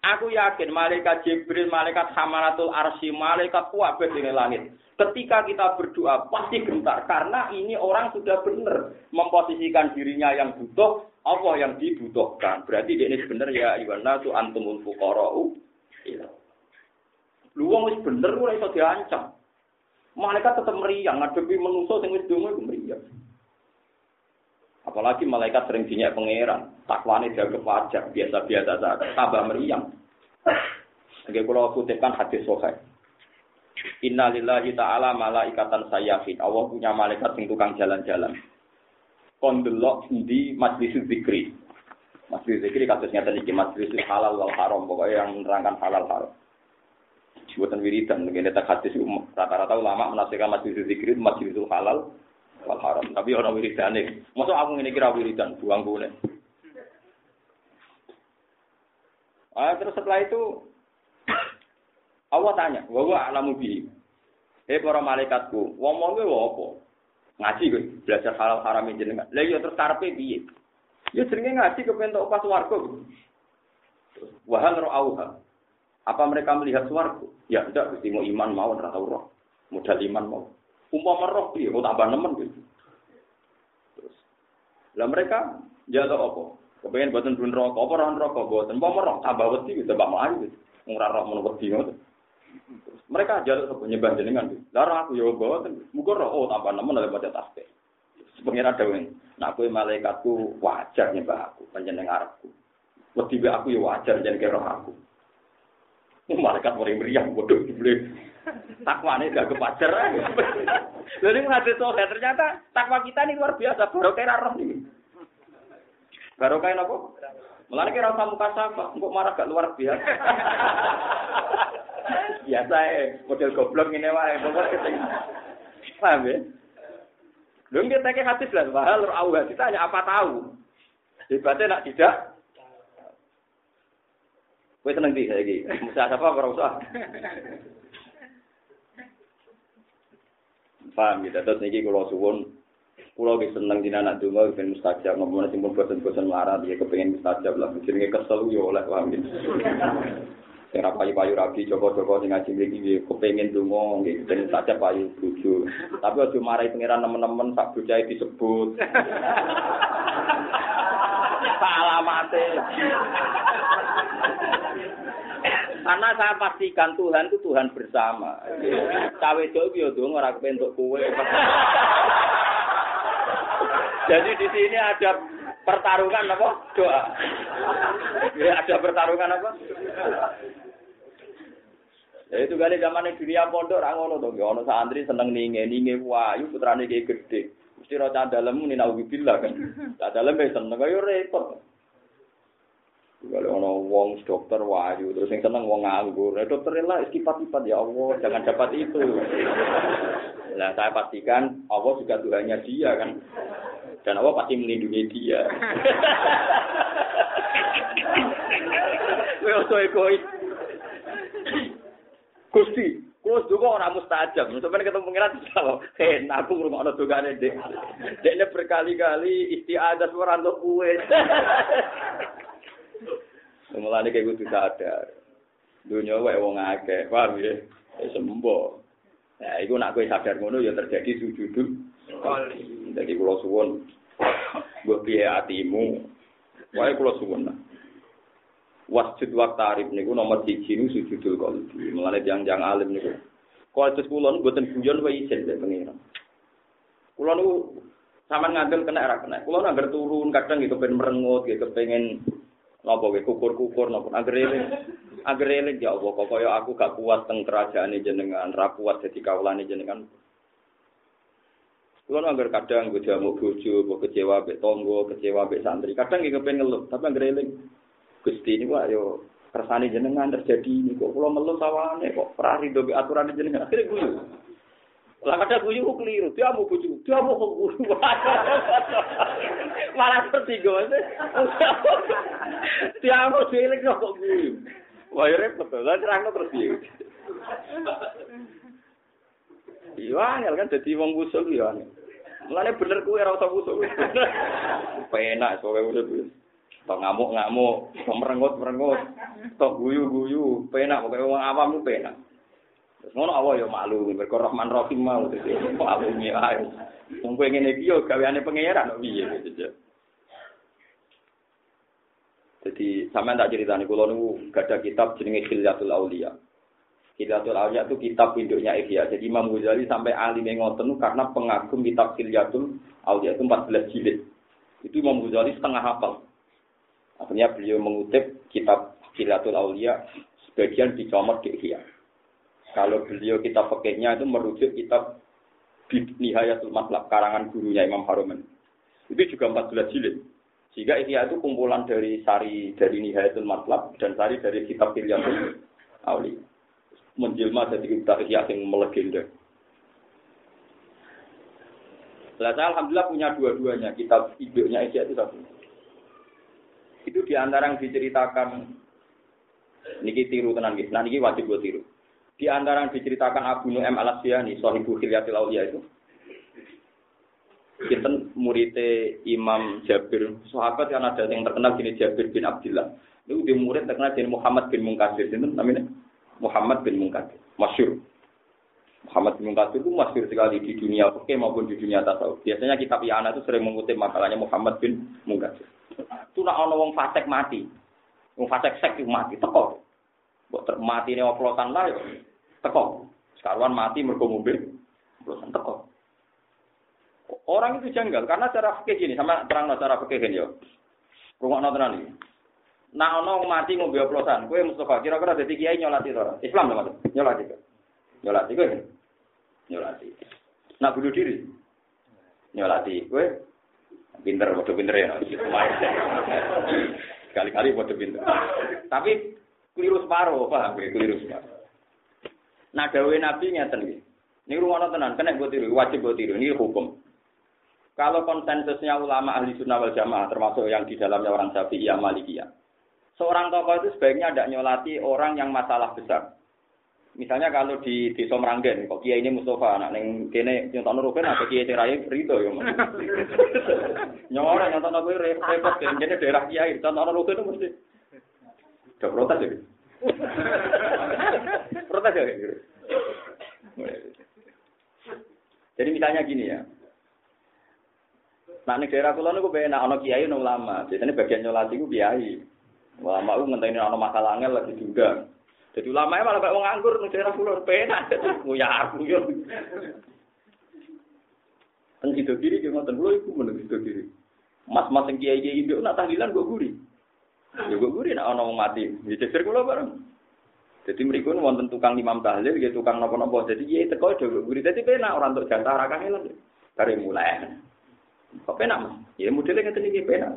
Aku yakin malaikat Jibril, malaikat Hamalatul Arsy, malaikat kuwabeh di langit. Ketika kita berdoa pasti gentar karena ini orang sudah benar memposisikan dirinya yang butuh, Allah yang dibutuhkan. Berarti dia ini benar ya Iwana tu antumul fuqara'u. Lu wong wis bener ora iso diancam. Malaikat tetap meriang ngadepi manusa sing wis donga iku meriang. Apalagi malaikat sering dinyak pangeran, takwane dianggap wajar, biasa-biasa saja, tambah meriang. Nggih kula kutipkan hadis sahih. Inna lillahi ta'ala malaikatan sayyafin. Allah punya malaikat sing tukang jalan-jalan. Kon delok di majlis zikri. Majlis zikri kasusnya tadi majlis halal wal haram, pokoknya yang menerangkan halal haram. Buatan wiridan, ngene tak hadis rata-rata ulama menafsirkan majlis zikri itu majlisul halal wal haram. Tapi orang wiridane. Mosok aku ngene kira wiridan, buang bune. Ah, terus setelah itu Allah tanya, "Wa wa alamu bi." Eh para malaikatku, wong wong kowe apa? Ngaji kowe, belajar halal haram jenengan. Lah iya terus karepe piye? Ya jenenge ngaji kepentok pas swarga. Wa hal ra'auha. Apa mereka melihat swarga? Ya ndak, mesti mau iman mau ora tau roh. Modal iman mau. Umpama roh piye, kok tambah nemen gitu. Terus. Lah mereka jatuh apa? Kepengen boten bun rokok, apa ora rokok boten. Umpama roh tambah wedi gitu, tambah maju gitu. Ora roh mun wedi ngono. Mereka jaluk sapa nyembah jenengan. Lah aku ya boten. Muga roh oh tambah nemen oleh baca tasbih. Pengira dawuh, nek kowe malaikatku wajar nyembah aku, panjenengan arepku. Wedi aku ya wajar jenenge roh aku. Malaikat mari meriang bodoh dibeli. Takwane gak kepacer. Jadi hadis sahih ternyata takwa kita ini luar biasa, barokah roh ini. Barokah napa? Mulane kira ora muka sapa, engko marah gak luar biasa. Biasa eh, model goblok ngene wae, pokok keting. Paham ya? Lho nggih teke hadis lah, bahal Allah ditanya apa tahu. Hebatnya nak tidak. Kowe seneng ndi saiki? Musa apa ora usah. Paham gitu, terus niki kula suwun kula ge seneng dina anak donga ben mustajab, ngomong sing bosen-bosen larat ya kepengin mustajab lah, jenenge kesel yo oleh paham gitu. Sing ra payu-payu rabi Joko-joko sing ngaji mriki kepengin donga nggih ben mustajab payu bojo. Tapi aja marahi pangeran nemen-nemen sak bocahe disebut. Alamate. Karena saya pastikan Tuhan itu Tuhan bersama. Cawe dok yo dong ora kepentuk kowe. Jadi di sini ada pertarungan apa? Doa. Ya, ada pertarungan apa? Ya itu kali zaman dunia pondok ra ngono to. Ono santri seneng ninge-ninge wayu putrane ki gedhe. Mesti ora dalem ni nauzubillah kan. Tak dalem wis seneng kaya repot. Kalau ono wong dokter wayu terus yang seneng wong nganggur, nah, dokter lah istipat-ipat ya Allah jangan dapat itu. Nah saya pastikan Allah juga Tuhannya dia kan, dan Allah pasti melindungi dia. Wes egois. Gusti, kulo juga orang mustajab. Sampeyan ketemu pengiran jawab, "Hen, aku ngrungokno dongane Dek. Dekne berkali-kali istiadat ora entuk kuwe." Mulane kayak kudu sadar. Dunya wae wong akeh, paham ya? Wis sembo. Nah, iku nek kowe sadar ngono ya terjadi sujudul qalbi. Dadi kula suwun mbok piye atimu. Wae kula suwun. Wasjud wa tarif niku nomor siji niku sujudul qalbi. Mulane tiyang-tiyang alim niku. Kualitas kula niku mboten guyon wae isin lek pengiran. Kula niku sampean ngandel kena ra kena. Kula nang turun kadang iki kepen merengut, iki kepengin napa wae kukur-kukur napa anggere anggere ya Allah kok kaya aku gak kuat teng kerajaane jenengan ra kuat dadi kawulane jenengan kulo anggere kadang go jamu bojo kok kecewa mek tangga kecewa mek santri kadang iki kepen ngeluh tapi anggere Gusti niku ayo kersane jenengan terjadi niku kula ngeluh sawane kok ora rido mek aturane jenengan akhire guyu lah kadang guyu kok keliru dia mau bojo dia mau kok guyu malah tertinggal dia mau cilik kok guyu wah ya repot lah terangno terus piye iya angel kan dadi wong usul ya mulane bener kuwi ora usah usul penak kowe urip Tok ngamuk-ngamuk, tok merengut-merengut, tok guyu-guyu, penak pokoke wong awam ku penak. Terus ngono Allah ya malu, mergo Rahman Rahim mau dadi kok alumi ae. Wong kowe ngene iki yo gaweane pangeran kok piye gitu. Jadi sampean tak ceritani kula niku gadah kitab jenenge Khilyatul Auliya. Khilyatul Auliya itu kitab induknya Ihya. Jadi Imam Ghazali sampai alim ngoten karena pengagum kitab Khilyatul Auliya itu empat belas jilid. Itu Imam Ghazali setengah hafal. Akhirnya beliau mengutip kitab Khilyatul Auliya sebagian dicomot di Ihya. Kalau beliau kitab fikihnya itu merujuk kitab Nihayatul Matlab karangan gurunya Imam Haruman. Itu juga empat belas jilid. Sehingga Ihya itu kumpulan dari sari dari Nihayatul Matlab dan sari dari kitab Khilyatul Auliya. Menjelma jadi kitab Ihya yang melegenda. Saya alhamdulillah punya dua-duanya, kitab induknya Ihya itu satu. Itu diantara yang diceritakan niki tiru tenan nggih. Nah niki wajib buat tiru. Di antara yang diceritakan Abu Nu'aim Al-Asfihani, Shahibul Khilyatul Auliya itu kita muridnya Imam Jabir, sahabat yang ada yang terkenal gini Jabir bin Abdullah. Itu dia murid terkenal jadi Muhammad bin Munkadir, itu namanya Muhammad bin Munkadir, masyhur. Muhammad bin Munkadir itu masyhur sekali di dunia fikih maupun di dunia tasawuf. Biasanya kitab I'anah itu sering mengutip makalahnya Muhammad bin Munkadir. Itu nak ono wong fasik mati, wong fasik sek itu mati teko. Mbok mati ne oplosan lah yo teko. Sekaruan mati mergo mobil oplosan teko. Orang itu janggal karena cara fikih gini sama terang cara fikih gini yo. Rungokno tenan iki. Nah ono mati ngombe oplosan, kowe Mustafa kira-kira dadi kiai nyolati ora? Islam to, Mas? Nyolati. Nyolati kowe. Nyolati. Nak bunuh diri. Nyolati kowe. Pinter, padha pinter ya. Kali-kali padha pinter. Tapi keliru separuh, paham kowe keliru separuh. Nah dawuhe Nabi ngeten iki. Niku rungokno tenan, kena mbok tiru, wajib mbok tiru, ini hukum. Kalau konsensusnya ulama ahli sunnah wal jamaah, termasuk yang di dalamnya orang Syafi'iyah, Malikiyah, seorang tokoh itu sebaiknya tidak nyolati orang yang masalah besar. Misalnya kalau di Desa Meranggen, kok kiai ini Mustafa, anak neng kene nyontono rugen atau kiai cerai Rito ya. Nyoran nyontono kowe repot kan kene daerah kiai, nyontono rugen itu mesti udah protes ya. Protes ya. Jadi misalnya gini ya. Nah, nek daerah kula niku penak ana kiai ana ulama. Biasane bagian nyolati ku kiai. Ulama ku ngenteni ana masalah angel lagi diundang. Jadi ulama malah kok wong nganggur nek daerah kula penak. Nguyar yo. Kan sido kiri ki ngoten lho iku men sido kiri. Mas-mas sing kiai-kiai nduk nak tahlilan go guri. Ya go guri nek ana wong mati. Ya cecer kula bareng. Jadi mriku wonten tukang imam tahlil, ya tukang napa-napa. Jadi kiai teko do guri. Dadi penak ora entuk jatah ra kangelan. Kare mulai. Kok penak Mas? Ya modelnya ngeten iki penak.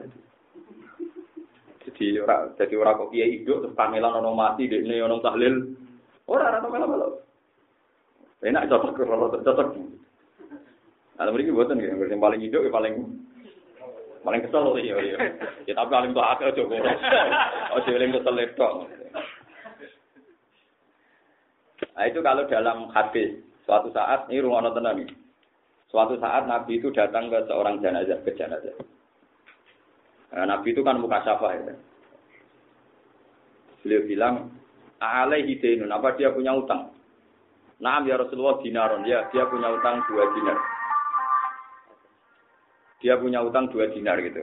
Jadi ora dadi ora kok kiai hidup terus kangelan ono mati dekne ono tahlil. Ora ora melo-melo. Penak cocok kalau cocok. Ana mriki mboten nggih, sing paling hidup ya paling paling kesel ya ya. Ya tapi paling tok akeh aja kok. Ojo eling kesel tok. Nah itu kalau dalam hadis suatu saat ini rungono tenan iki. Suatu saat Nabi itu datang ke seorang jenazah, ke jenazah. Nah, Nabi itu kan muka syafah ya. Beliau bilang, alaihi dainun, apa dia punya utang? Naam ya Rasulullah dinaron, ya dia punya utang dua dinar. Dia punya utang dua dinar gitu.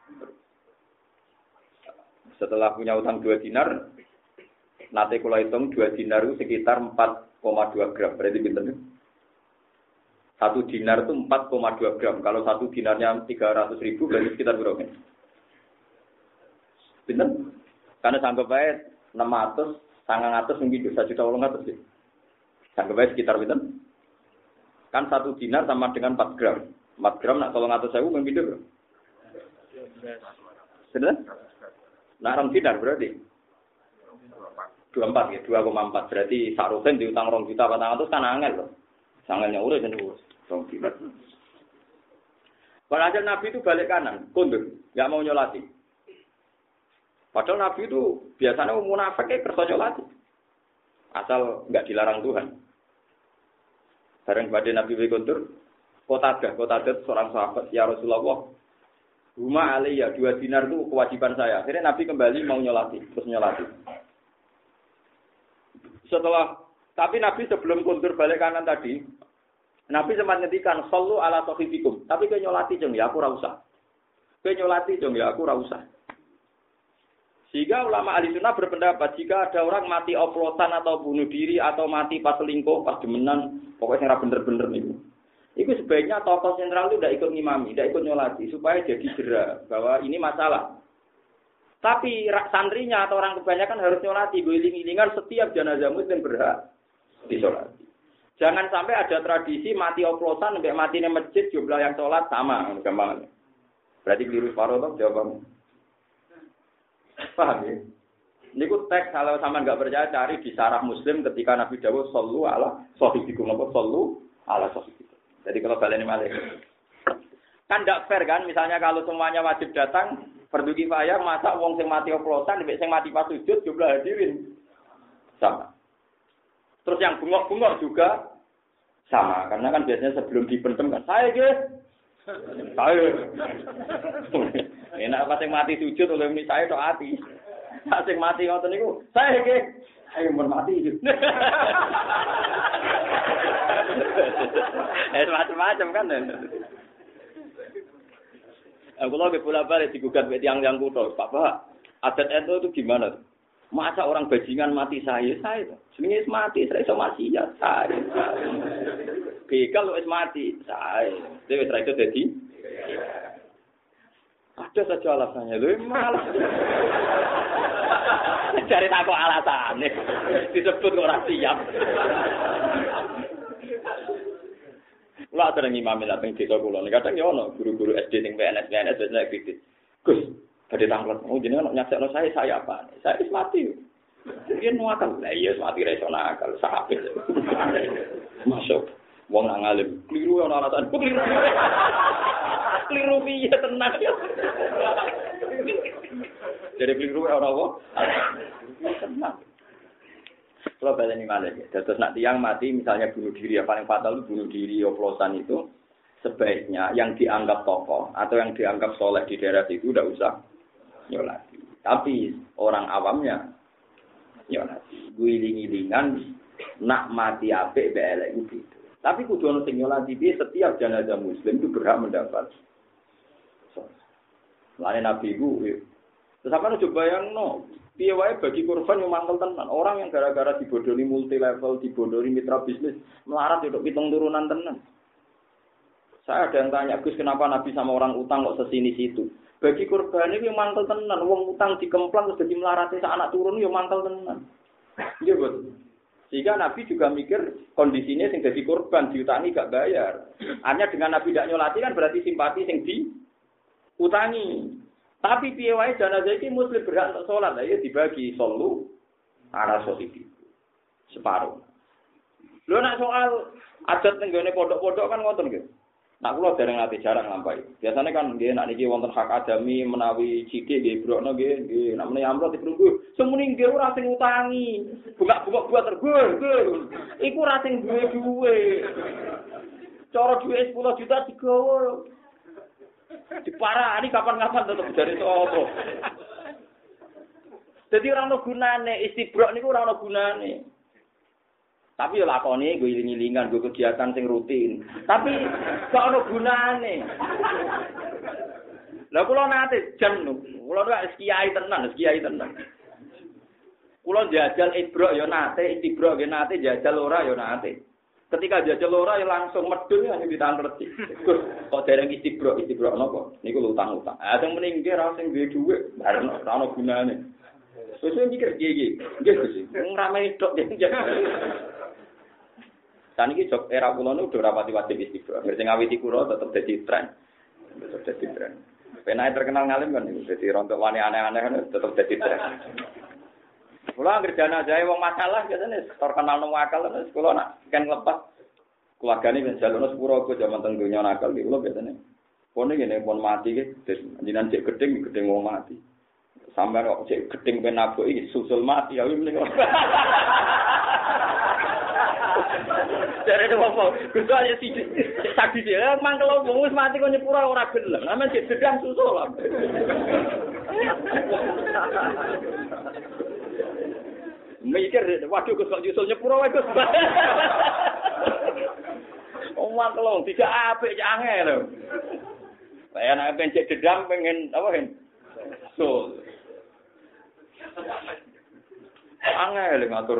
Setelah punya utang dua dinar, nanti kalau hitung dua dinar itu sekitar empat koma dua gram, berarti pinter nih? Satu dinar itu empat koma dua gram. Kalau satu dinarnya tiga ratus ribu, berarti sekitar berapa? Benar? Karena sanggup baik enam ratus, sangat ratus mungkin satu juta orang ratus sih. Sanggup baik sekitar benar? Kan satu dinar sama dengan empat gram. empat gram nak tolong ratus sewu mungkin berapa? Benar? Nah, orang dinar berarti? dua puluh empat ya, dua koma empat. Berarti sarusen diutang rong juta patang ratus kan angel loh. Sangalnya urus dan urus. Padahal Nabi itu balik kanan, kundur, nggak mau nyolati. Padahal Nabi itu biasanya munafik kayak kerja nyolati, asal nggak dilarang Tuhan. Bareng pada Nabi kundur, kota ada, kota ada seorang sahabat, ya Rasulullah, Huma alaiya, dua dinar itu kewajiban saya. Akhirnya Nabi kembali mau nyolati, terus nyolati. Setelah, tapi Nabi sebelum kundur balik kanan tadi, Nabi sempat ngetikan, sallu ala sahibikum. Tapi ke nyolati jeng, ya aku ora usah. Ke nyolati jeng, ya aku ora usah. Sehingga ulama ahli sunnah berpendapat, jika ada orang mati oplosan atau bunuh diri, atau mati pas selingkuh, pas demenan, pokoknya bener-bener nih. Itu sebaiknya tokoh sentral itu tidak ikut ngimami, tidak ikut nyolati, supaya jadi jera bahwa ini masalah. Tapi santrinya atau orang kebanyakan harus nyolati, guling-gilingan setiap jenazah muslim berhak disolati. Jangan sampai ada tradisi mati oplosan sampai matinya masjid jumlah yang sholat sama, gampang. Berarti keliru separuh toh jawabannya. Paham ya? Ini ku teks kalau sama nggak percaya cari di sarah Muslim ketika Nabi Dawud sallu ala sahibikum, apa sallu ala sahibikum. Jadi kalau kalian ini malah kan tidak fair kan, misalnya kalau semuanya wajib datang, fardu kifayah, masa wong sing mati oplosan, sing mati pas sujud jumlah hadirin sama. Terus yang bungok-bungok juga sama, karena kan biasanya sebelum dipendem kan, saya guys, saya, enak pas yang mati sujud oleh ini saya tok hati, pas yang mati ngoten niku, saya guys, saya mau mati. Eh macam-macam kan. Aku lagi pula balik digugat be tiang-tiang kutho, Pak, adat itu itu gimana? Masa orang bajingan mati saya, saya itu. Sebenarnya mati, saya iso mati ya, saya. Begal wis mati, saya. Dewe itu jadi. Ada saja alasannya, lu malah. Cari tak kok alasannya, disebut orang siap. Lah ada ngimami dateng desa kula. Kadang ya ono guru-guru S D sing P N S P N S biasanya kritis. Gus, badhe tanglet. Oh jenengan nyaksekno saya saya apa? Saya wis mati. Yen nuakal. Lah iya mati ra iso nakal, sahabat. Masuk. Wong nang alim, kliru ono alasan. Kliru. Kliru piye tenan. Jadi kliru ora apa? Tenang. Kalau baleni malah ya. Terus nak tiang mati misalnya bunuh diri, yang paling fatal itu bunuh diri, oplosan itu sebaiknya yang dianggap tokoh atau yang dianggap soleh di daerah itu udah usah nyolati. Tapi orang awamnya nyolati. Guling-gilingan nak mati apik belek itu. Tapi kudu ono sing nyolati piye setiap jenazah muslim itu berhak mendapat. Lane Nabi iku terus sampeyan coba bayangno piye wae bagi korban yang mangkel tenan. Orang yang gara-gara dibodoni multi level, dibodoni mitra bisnis, melarat untuk pitung turunan tenan. Saya ada yang tanya, Gus, kenapa Nabi sama orang utang kok sesini situ? Bagi korban ini yang mangkel tenan, wong utang dikemplang terus jadi melarati sak anak turun yo mangkel tenan. Iya betul. Sehingga Nabi juga mikir kondisinya sing jadi korban diutangi gak bayar. Hanya dengan Nabi tidak nyolati kan berarti simpati sing diutangi. Tapi piye wae jenazah iki muslim berhak untuk salat, ya dibagi sallu ala sahibi. Separuh. Lho nek soal adat tenggone pondok-pondok kan ngoten nggih. Nak kula dereng ate jarang lampahi. Biasane kan nggih nek niki wonten hak adami menawi sithik nggih brokno nggih nggih nek menawi amplop diprunggu. Semuni nggih ora sing utangi. Buka-buka buat tergus. Iku ora sing duwe duwe. Cara duwe sepuluh juta digawa. Diparani kapan-kapan tetep jare sapa. Dadi ora ono gunane istibrok niku ora ono gunane. Tapi yo lakone go iling-ilingan go kegiatan sing rutin. Tapi gak ono gunane. Lah kula nate jam niku. Kula wis kiai tenan, wis kiai tenan. Kula jajal ibrok yo nate, istibrok yo nate, jajal ora yo nate. Ketika jajal ora ya langsung medun hanya ditangkreti. Gus, kok dereng istibrok, istibrok napa? Niku utang-utang. Ah sing mending nggih ra sing duwe dhuwit, bareng ora ono gunane. Sesuk mikir piye iki? Nggih Gus, ngrame tok nggih. Saniki jok era kula niku ora pati wajib istibrok. Sing ngawiti kula tetep dadi tren. Tetep dadi tren. Penake terkenal ngalim kan niku dadi rontok wani aneh-aneh tetep dadi tren. Kula anggere jenazah wong masalah biasane terkenal nang akal terus kula nak kan lepas keluargane ben jalono sepuro go jaman teng donya nakal iki kula biasane. Pone ngene pon mati iki jenengan cek gedeng gedeng wong mati. Sampeyan kok cek gedeng ben nabok iki susul mati ya mending. Dari itu apa? Gus aja sih saksi dia mangkel wong wis mati kok nyepura ora gelem. Sampeyan cek gedang susul lah. Mikir waduh Gus kok nyusul nyepura wae Gus. Omong kelong tidak apik cak angel. Saya nek pencet gedang pengen apa hen? So. Angel ngatur.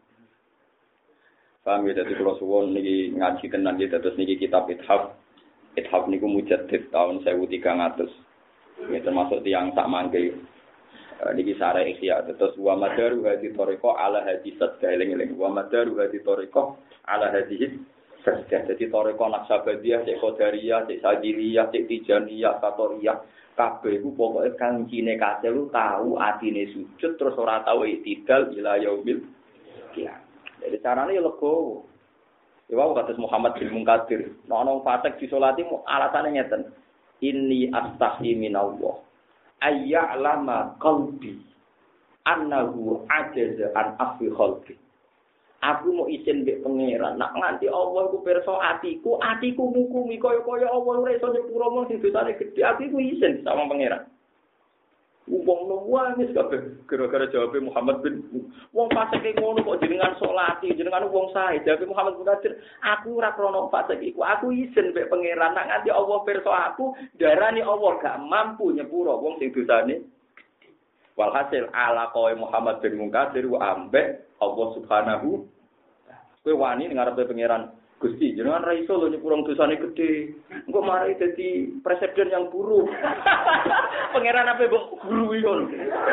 Paham ya, dadi kula suwun niki ngaji tenan iki terus niki kitab Ithaf. Ithaf niku mujaddid tahun seribu tiga ratus. Ya termasuk tiyang sak mangke. Niki sare ikhya terus wa madaru hadi tariqah ala hadi sadqa eling-eling wa madaru hadi tariqah ala hadi sadqa. Jadi tariqah Naqsabandiyah, Cek Qadariyah, Cek Sajiliyah, Cek Tijaniyah, Satoriyah kabeh iku pokoke kancine kabeh lu tahu atine sujud terus ora tahu itidal ila yaumil qiyamah. Jadi caranya ya legowo. Ya wae kados Muhammad bin Munkadir. Nek ana fasik disolati alasane ngeten. Inni astahi minallah. Ayya'lama qalbi annahu ajaza an afi khalqi. Aku mau izin mbek pangeran. Nak nganti Allah iku pirsa atiku, atiku ngukumi kaya-kaya Allah ora iso nyepuro mung sing dosane gedhe. Atiku izin sama pangeran. Wong nangis kabeh gara-gara jawabe Muhammad bin wong fasik ngono kok jenengan salati jenengan wong sae jawabe Muhammad bin Qadir aku ora krono fasik iku aku izin mek pangeran nak nganti Allah pirsa aku darani Allah gak mampu nyepuro wong sing dosane walhasil ala kowe Muhammad bin Qadir wa ambek Allah Subhanahu kowe wani ngarepe pangeran Gusti, jenengan ra iso lho nyepuro dosane gedhe. Engko mari dadi presiden yang buruk. Pangeran apa mbok guru iki lho.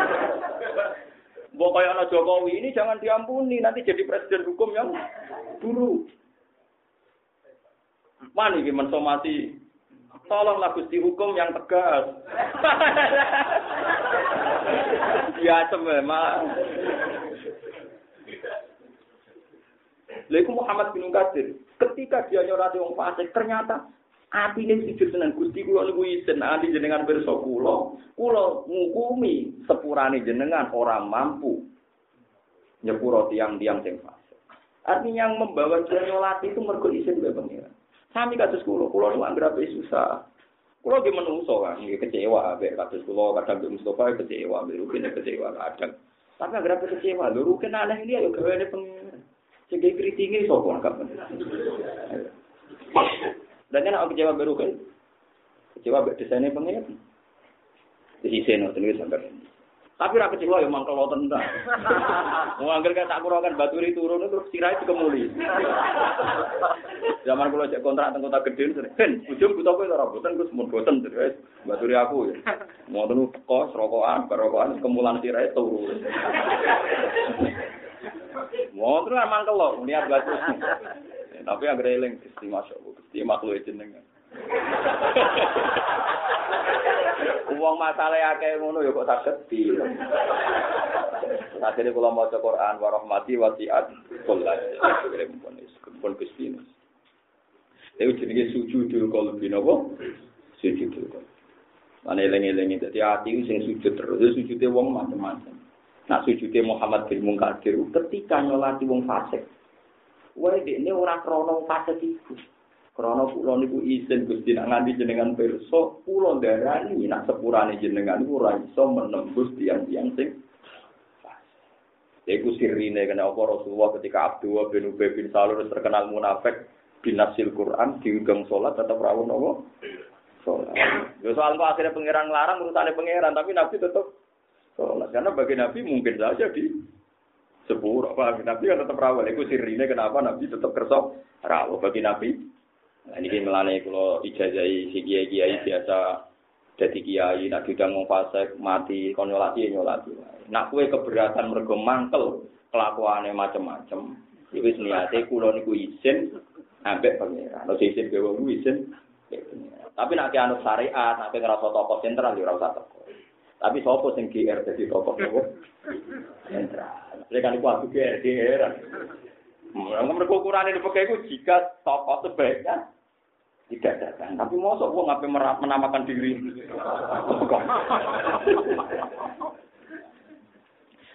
Mbok kaya ana Jokowi ini jangan diampuni, nanti jadi presiden hukum yang buruk. Mani iki mensomasi. Tolonglah Gusti hukum yang tegas. Ya memang. Lha Muhammad bin Qadir ketika dia nyolati wong fasik ternyata atine sujud tenan Gusti kula niku izin ati jenengan pirsa kula kula ngukumi sepurane jenengan ora mampu nyepuro tiang-tiang sing fasik. Artinya yang membawa dia nyolati itu mergo izin mbek pangeran. Sami kados kula, kula niku anggere susah. Kula ge menungso kan, nggih kecewa mbek kados kula kadang mbek Mustofa kecewa, mbek Rukin kecewa kadang. Tapi anggere kecewa, lho Rukin aneh iki ya gaweane pangeran. Sehingga kritiknya sapa kapan. Dan nek aku kecewa baru kan. Kecewa mbek desaine pengen. Disisen ngoten iki sampeyan. Tapi ra kecewa ya mangkel tenan. Wong angger tak kura kan baturi turun terus sirahe dikemuli. Zaman kula cek kontrak teng kota gedhe ben ujung buta kowe ora boten Gus mun boten terus baturi aku ya. Ngoten kok rokokan rokokan kemulan sirahe turu. Mau terus mangkel lho, niat bagus. Tapi yang greling Gusti masyaallah, Gusti makhluk jenengan. Wong masalahe akeh ngono ya kok saged di. Sakjane kula maca Quran wa rahmati wasi'at kullas. Pun Gusti. Dewe jenenge sujudul qalbi napa? Sujudul qalbi. Mane eling-eling dadi ati sing sujud terus, sujude wong macam-macam. Nak sujude Muhammad bin Munkadir ketika nyolati wong fasik. Wae dekne ora krana fasik iku. Krana kula niku izin Gusti nak nganti jenengan pirsa, kula ndarani nak sepurane jenengan niku ora iso menembus tiang-tiang sing fasik. Iku sirine kena apa Rasulullah ketika Abdullah bin Ubay bin Salul terkenal munafik binasil Quran diundang salat tetap rawuh napa? Salat. Yo soal kok akhirnya pangeran nglarang urusane pangeran tapi Nabi tetap sholat. Karena bagi Nabi mungkin saja di sepuluh apa Nabi kan tetap rawal. Itu sirine kenapa Nabi tetap kerso rawal bagi Nabi. Nah, ini melane kalau ijazai si kiai kiai biasa jadi kiai nak diundang wong fasik mati kon nyolati nyolati. Nak kue keberatan mergo mangkel kelakuane macam-macam. Wis niate kula niku izin ambek pangeran. Nek izin ke wong izin. Tapi nek anu syariat, nek ngrasa tokoh sentral ya ora usah teko. Tapi sapa sing G R dadi tokoh tokoh sentral. Lek kan iku aku G R D R. Mereka ukurannya dipakai itu jika tokoh sebaiknya tidak datang. Tapi mosok wong ngapain menamakan diri.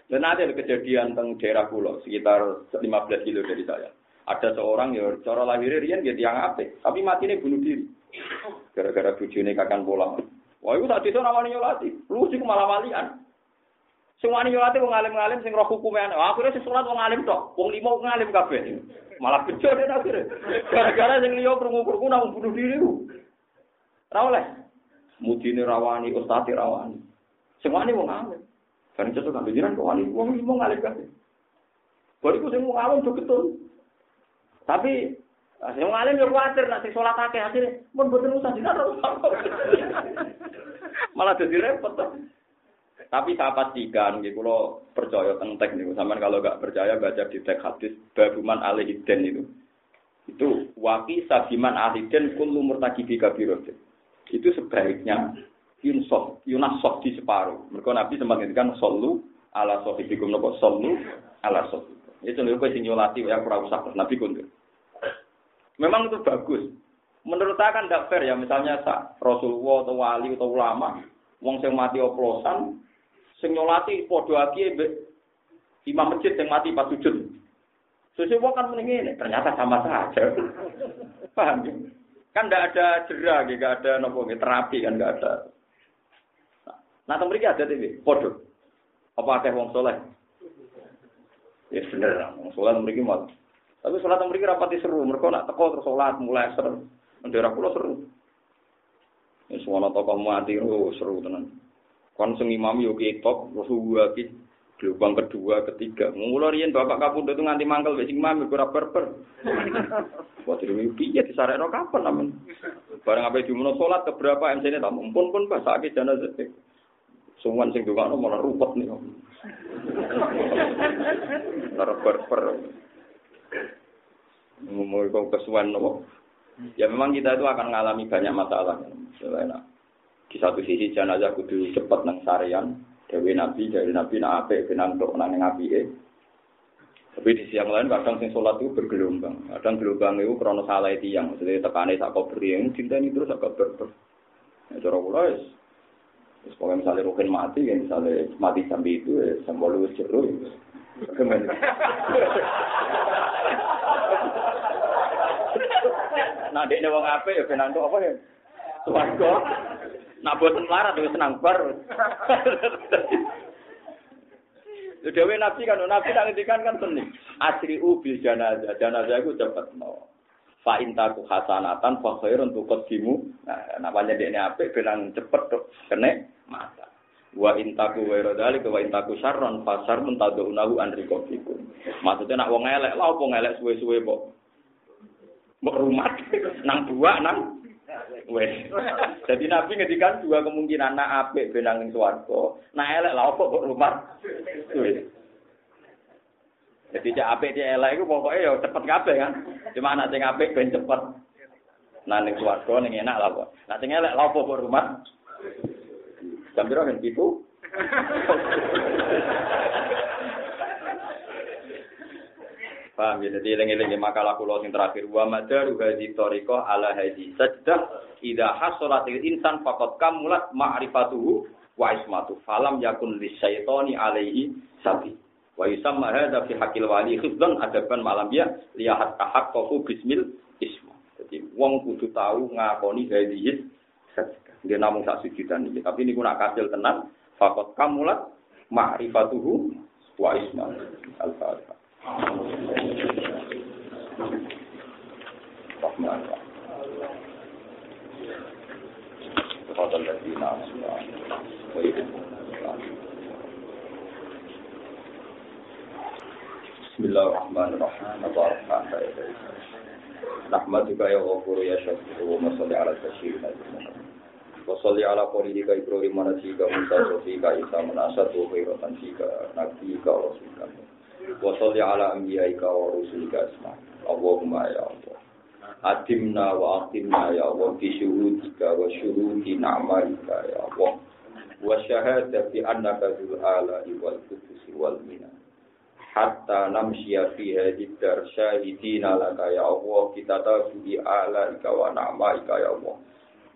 Dan ada kejadian teng daerah pulau sekitar lima belas kilo dari saya. Ada seorang yang cara lahirnya rian dia tiang apik, tapi matinya bunuh diri. Gara-gara bojone kakan pola. Wah, itu tak desa namanya nyolati. Lu sih malah walian. Sing wani nyolati wong alim-alim sing roh hukume ana. Akhire sing salat wong alim tok. Wong limo wong alim kabeh. Malah bejo dene akhire. Gara-gara sing liya krungu-krungu nang bunuh diri ku. Ora oleh. Mudine rawani, ustaz rawani. Sing wani wong alim. Kan cocok kan jiran kok wani wong limo alim kabeh. Bariku sing wong alim betul. Tapi sing wong alim yo kuwatir nek sing salat akeh akhire mun boten usah dinar. Malah dadi repot. Tapi saya pastikan, gitu kalau percaya tentang teks nih, sampean kalau nggak percaya baca di teks hadis babuman alihiden itu, itu wafi sabiman alihiden kullu murtakibi kabirotin. Itu sebaiknya yunsof, yunasof di separuh. Mereka Nabi sempat ngendikan solu ala sohibikum nopo solu ala sohibikum. Itu nih kau sinyolati yang kurang usah Nabi kundur. Memang itu bagus. Menurut saya kan tidak fair ya, misalnya Rasulullah atau wali atau ulama, wong sing mati oplosan. Sing nyolati padha aki imam masjid yang mati pas sujud. Sesuatu kan mending ternyata sama saja. Paham ya? Kan tidak ada jera, tidak ada nopo terapi kan tidak ada. Nah, tempat ini ada TV, podo. Apa ada wong soleh? Ya bener, wong soleh tempat ini mau. Tapi sholat tempat ini rapati seru. Mereka nak teko terus sholat mulai seru. Daerah pulau seru. Ya semua tokoh mati seru tenan. Kon sing imam yo ketok, Rasulullah ki gelombang kedua, ketiga. Mula riyen bapak kapundhut itu nganti mangkel wis sing imam ora berber. Wah, dhewe piye disarekno kapan amen. Bareng ape dimuno salat keberapa M C-ne tak mumpun pun basake jenazah. Sumuan sing dongakno malah rupet nih. Ora berber. Ngomong kok kesuwen nopo. Ya memang kita itu akan mengalami banyak masalah. Selain di satu sisi jenazah kudu cepat nang sarean, dewe Nabi dari Nabi nak apik benang tok nang apike. Tapi di siang lain kadang sing salat itu bergelombang. Kadang gelombang itu krana salah tiyang, maksudnya tekane sak kubri yang cintani terus sak berber. Ya cara kula wis wis pokoke misale rukin mati, ya misale mati sampai itu ya sembol wis jero. Nah, dekne wong apik ya benang tok apa ya? Swarga. Nak boten melarat wis senang bar. Dewe Nabi kan Nabi tak ngendikan kan seni. Asri'u bil janazah. Janazah iku cepet no. Fa intaku hasanatan fa khairun tuqaddimu. Nah, napane dekne apik benang cepet tok kene mata. Wa intaku wa radali wa intaku syarron fa syarrun tad'unahu an riqabikum. Maksudnya nak wong elek lha opo ngelek suwe-suwe kok. Mbok rumah nang buak nang wes. Jadi Nabi ngedikan dua kemungkinan, nak apik benang ning swarga, nak elek lha opo kok rumah. Wes. Jadi cek apik cek elek iku pokoke ya cepet kabeh kan. Cuma anak sing apik ben cepet. Nah ning swarga ning enak lha kok. Nak sing elek lha opo kok rumah. Jam piro kan itu? Paham ya, jadi eling-eling makalah kula sing terakhir wa madaru hadhi tariqah ala hadhi sajdah idza hasalatil insan faqad kamulat ma'rifatuhu wa ismatu falam yakun lisyaitani alaihi sabi wa yusamma hadza fi haqqil wali khifdan adaban malam ya lihat tahaqqaqu bismil isma. Jadi wong kudu tahu ngakoni hadhi sajdah. Dia namung sak sujudan iki, tapi niku nak kasil tenan faqad kamulat ma'rifatuhu wa ismatu. Al-Fatihah. Rahman Fadal ladina asma wa Bismillahirrahmanirrahim. Nahmaduka ya ghafur ya syakur wa salli ala sayyidina wa salli ala qalilika ibrahim manasika musa sofika isa manasat wa khairatan sika nabiyika wa rasulika wa salli ala anbiyaika wa rusulika asma. Allahumma ya Allah adimna wa aqimna ya Allah bi syuhudika wa syuhudi na'malika ya Allah wa syahadati annaka dzul ala'i wal qudusi wal minan hatta namshiya fi hadhihi dar syahidina laka ya Allah kita tahu bi alaika wa na'malika ya Allah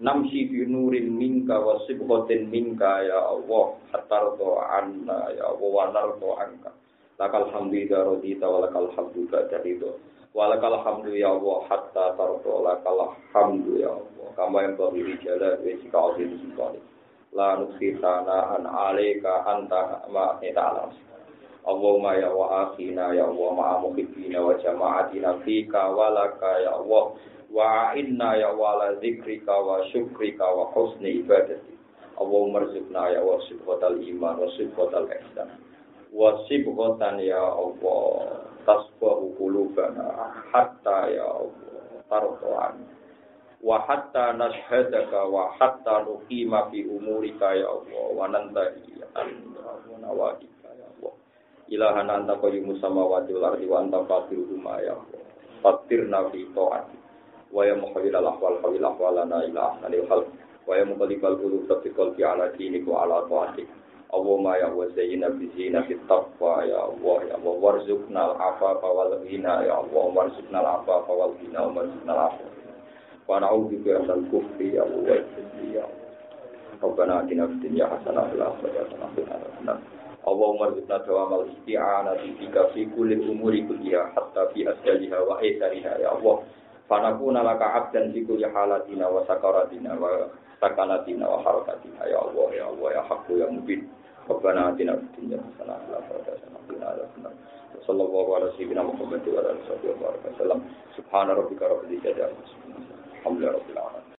namsi fi nurin minka wa sibghatin minka ya Allah hatarto anna ya Allah wa narto anka lakal hamdu ya radita wa lakal hamdu ba'da ridho wa lakal hamdu ya Allah hatta tarto lakal hamdu ya Allah kama yang bagi jalal wa sika azim sikali la nusitana an alayka anta ma ta'ala Allahumma ya wa akhina ya Allah ma'a muhibbina wa jama'atina fika wa laka ya Allah wa inna ya wala zikrika wa syukrika wa husni ibadati Allahumma rizqna ya wa sibghatal iman wa sibghatal ihsan wa sibghatan ya Allah tasbahu qulubana hatta ya Allah tardu'an wa hatta nashhadaka wa hatta nuqima fi umurika ya Allah wa nantahi an nawadika ya Allah ilahana anta qayyumus samawati wal ardi wa anta fatiruhuma ya Allah fatirna fi ta'ati wa ya muhawwil al-ahwal hawil ahwalana ila ahsanil khalq wa ya muqallibal qulub thabbiqal fi ala dinik wa ala ta'atik Allahumma ya wa zayyina bi zinatit taqwa ya Allah ya Allah warzuqna al-afafa wal ghina ya Allah warzuqna al-afafa wal ghina wa warzuqna al-afafa wa na'udzu bika minal kufri ya Allah ya Rabbana atina fid dunya hasanah wa fil akhirati hasanah wa qina adzabannar Allahumma rizqna dawamal isti'anati bika fi kulli umuri kulliha hatta fi asjaliha wa aisariha ya Allah Fanakuna laka abdan fi kulli halatina wa sakaratina wa sakanatina wa harakatina ya Allah ya Allah ya haqqu ya mubin Rabbana atina fid dunya hasanah wa fil akhirati hasanah wa qina adzabannar sallallahu ala sayyidina Muhammad wa ala alihi wa sahbihi wa sallam subhana rabbika rabbil izzati amma yasifun alhamdulillahi rabbil alamin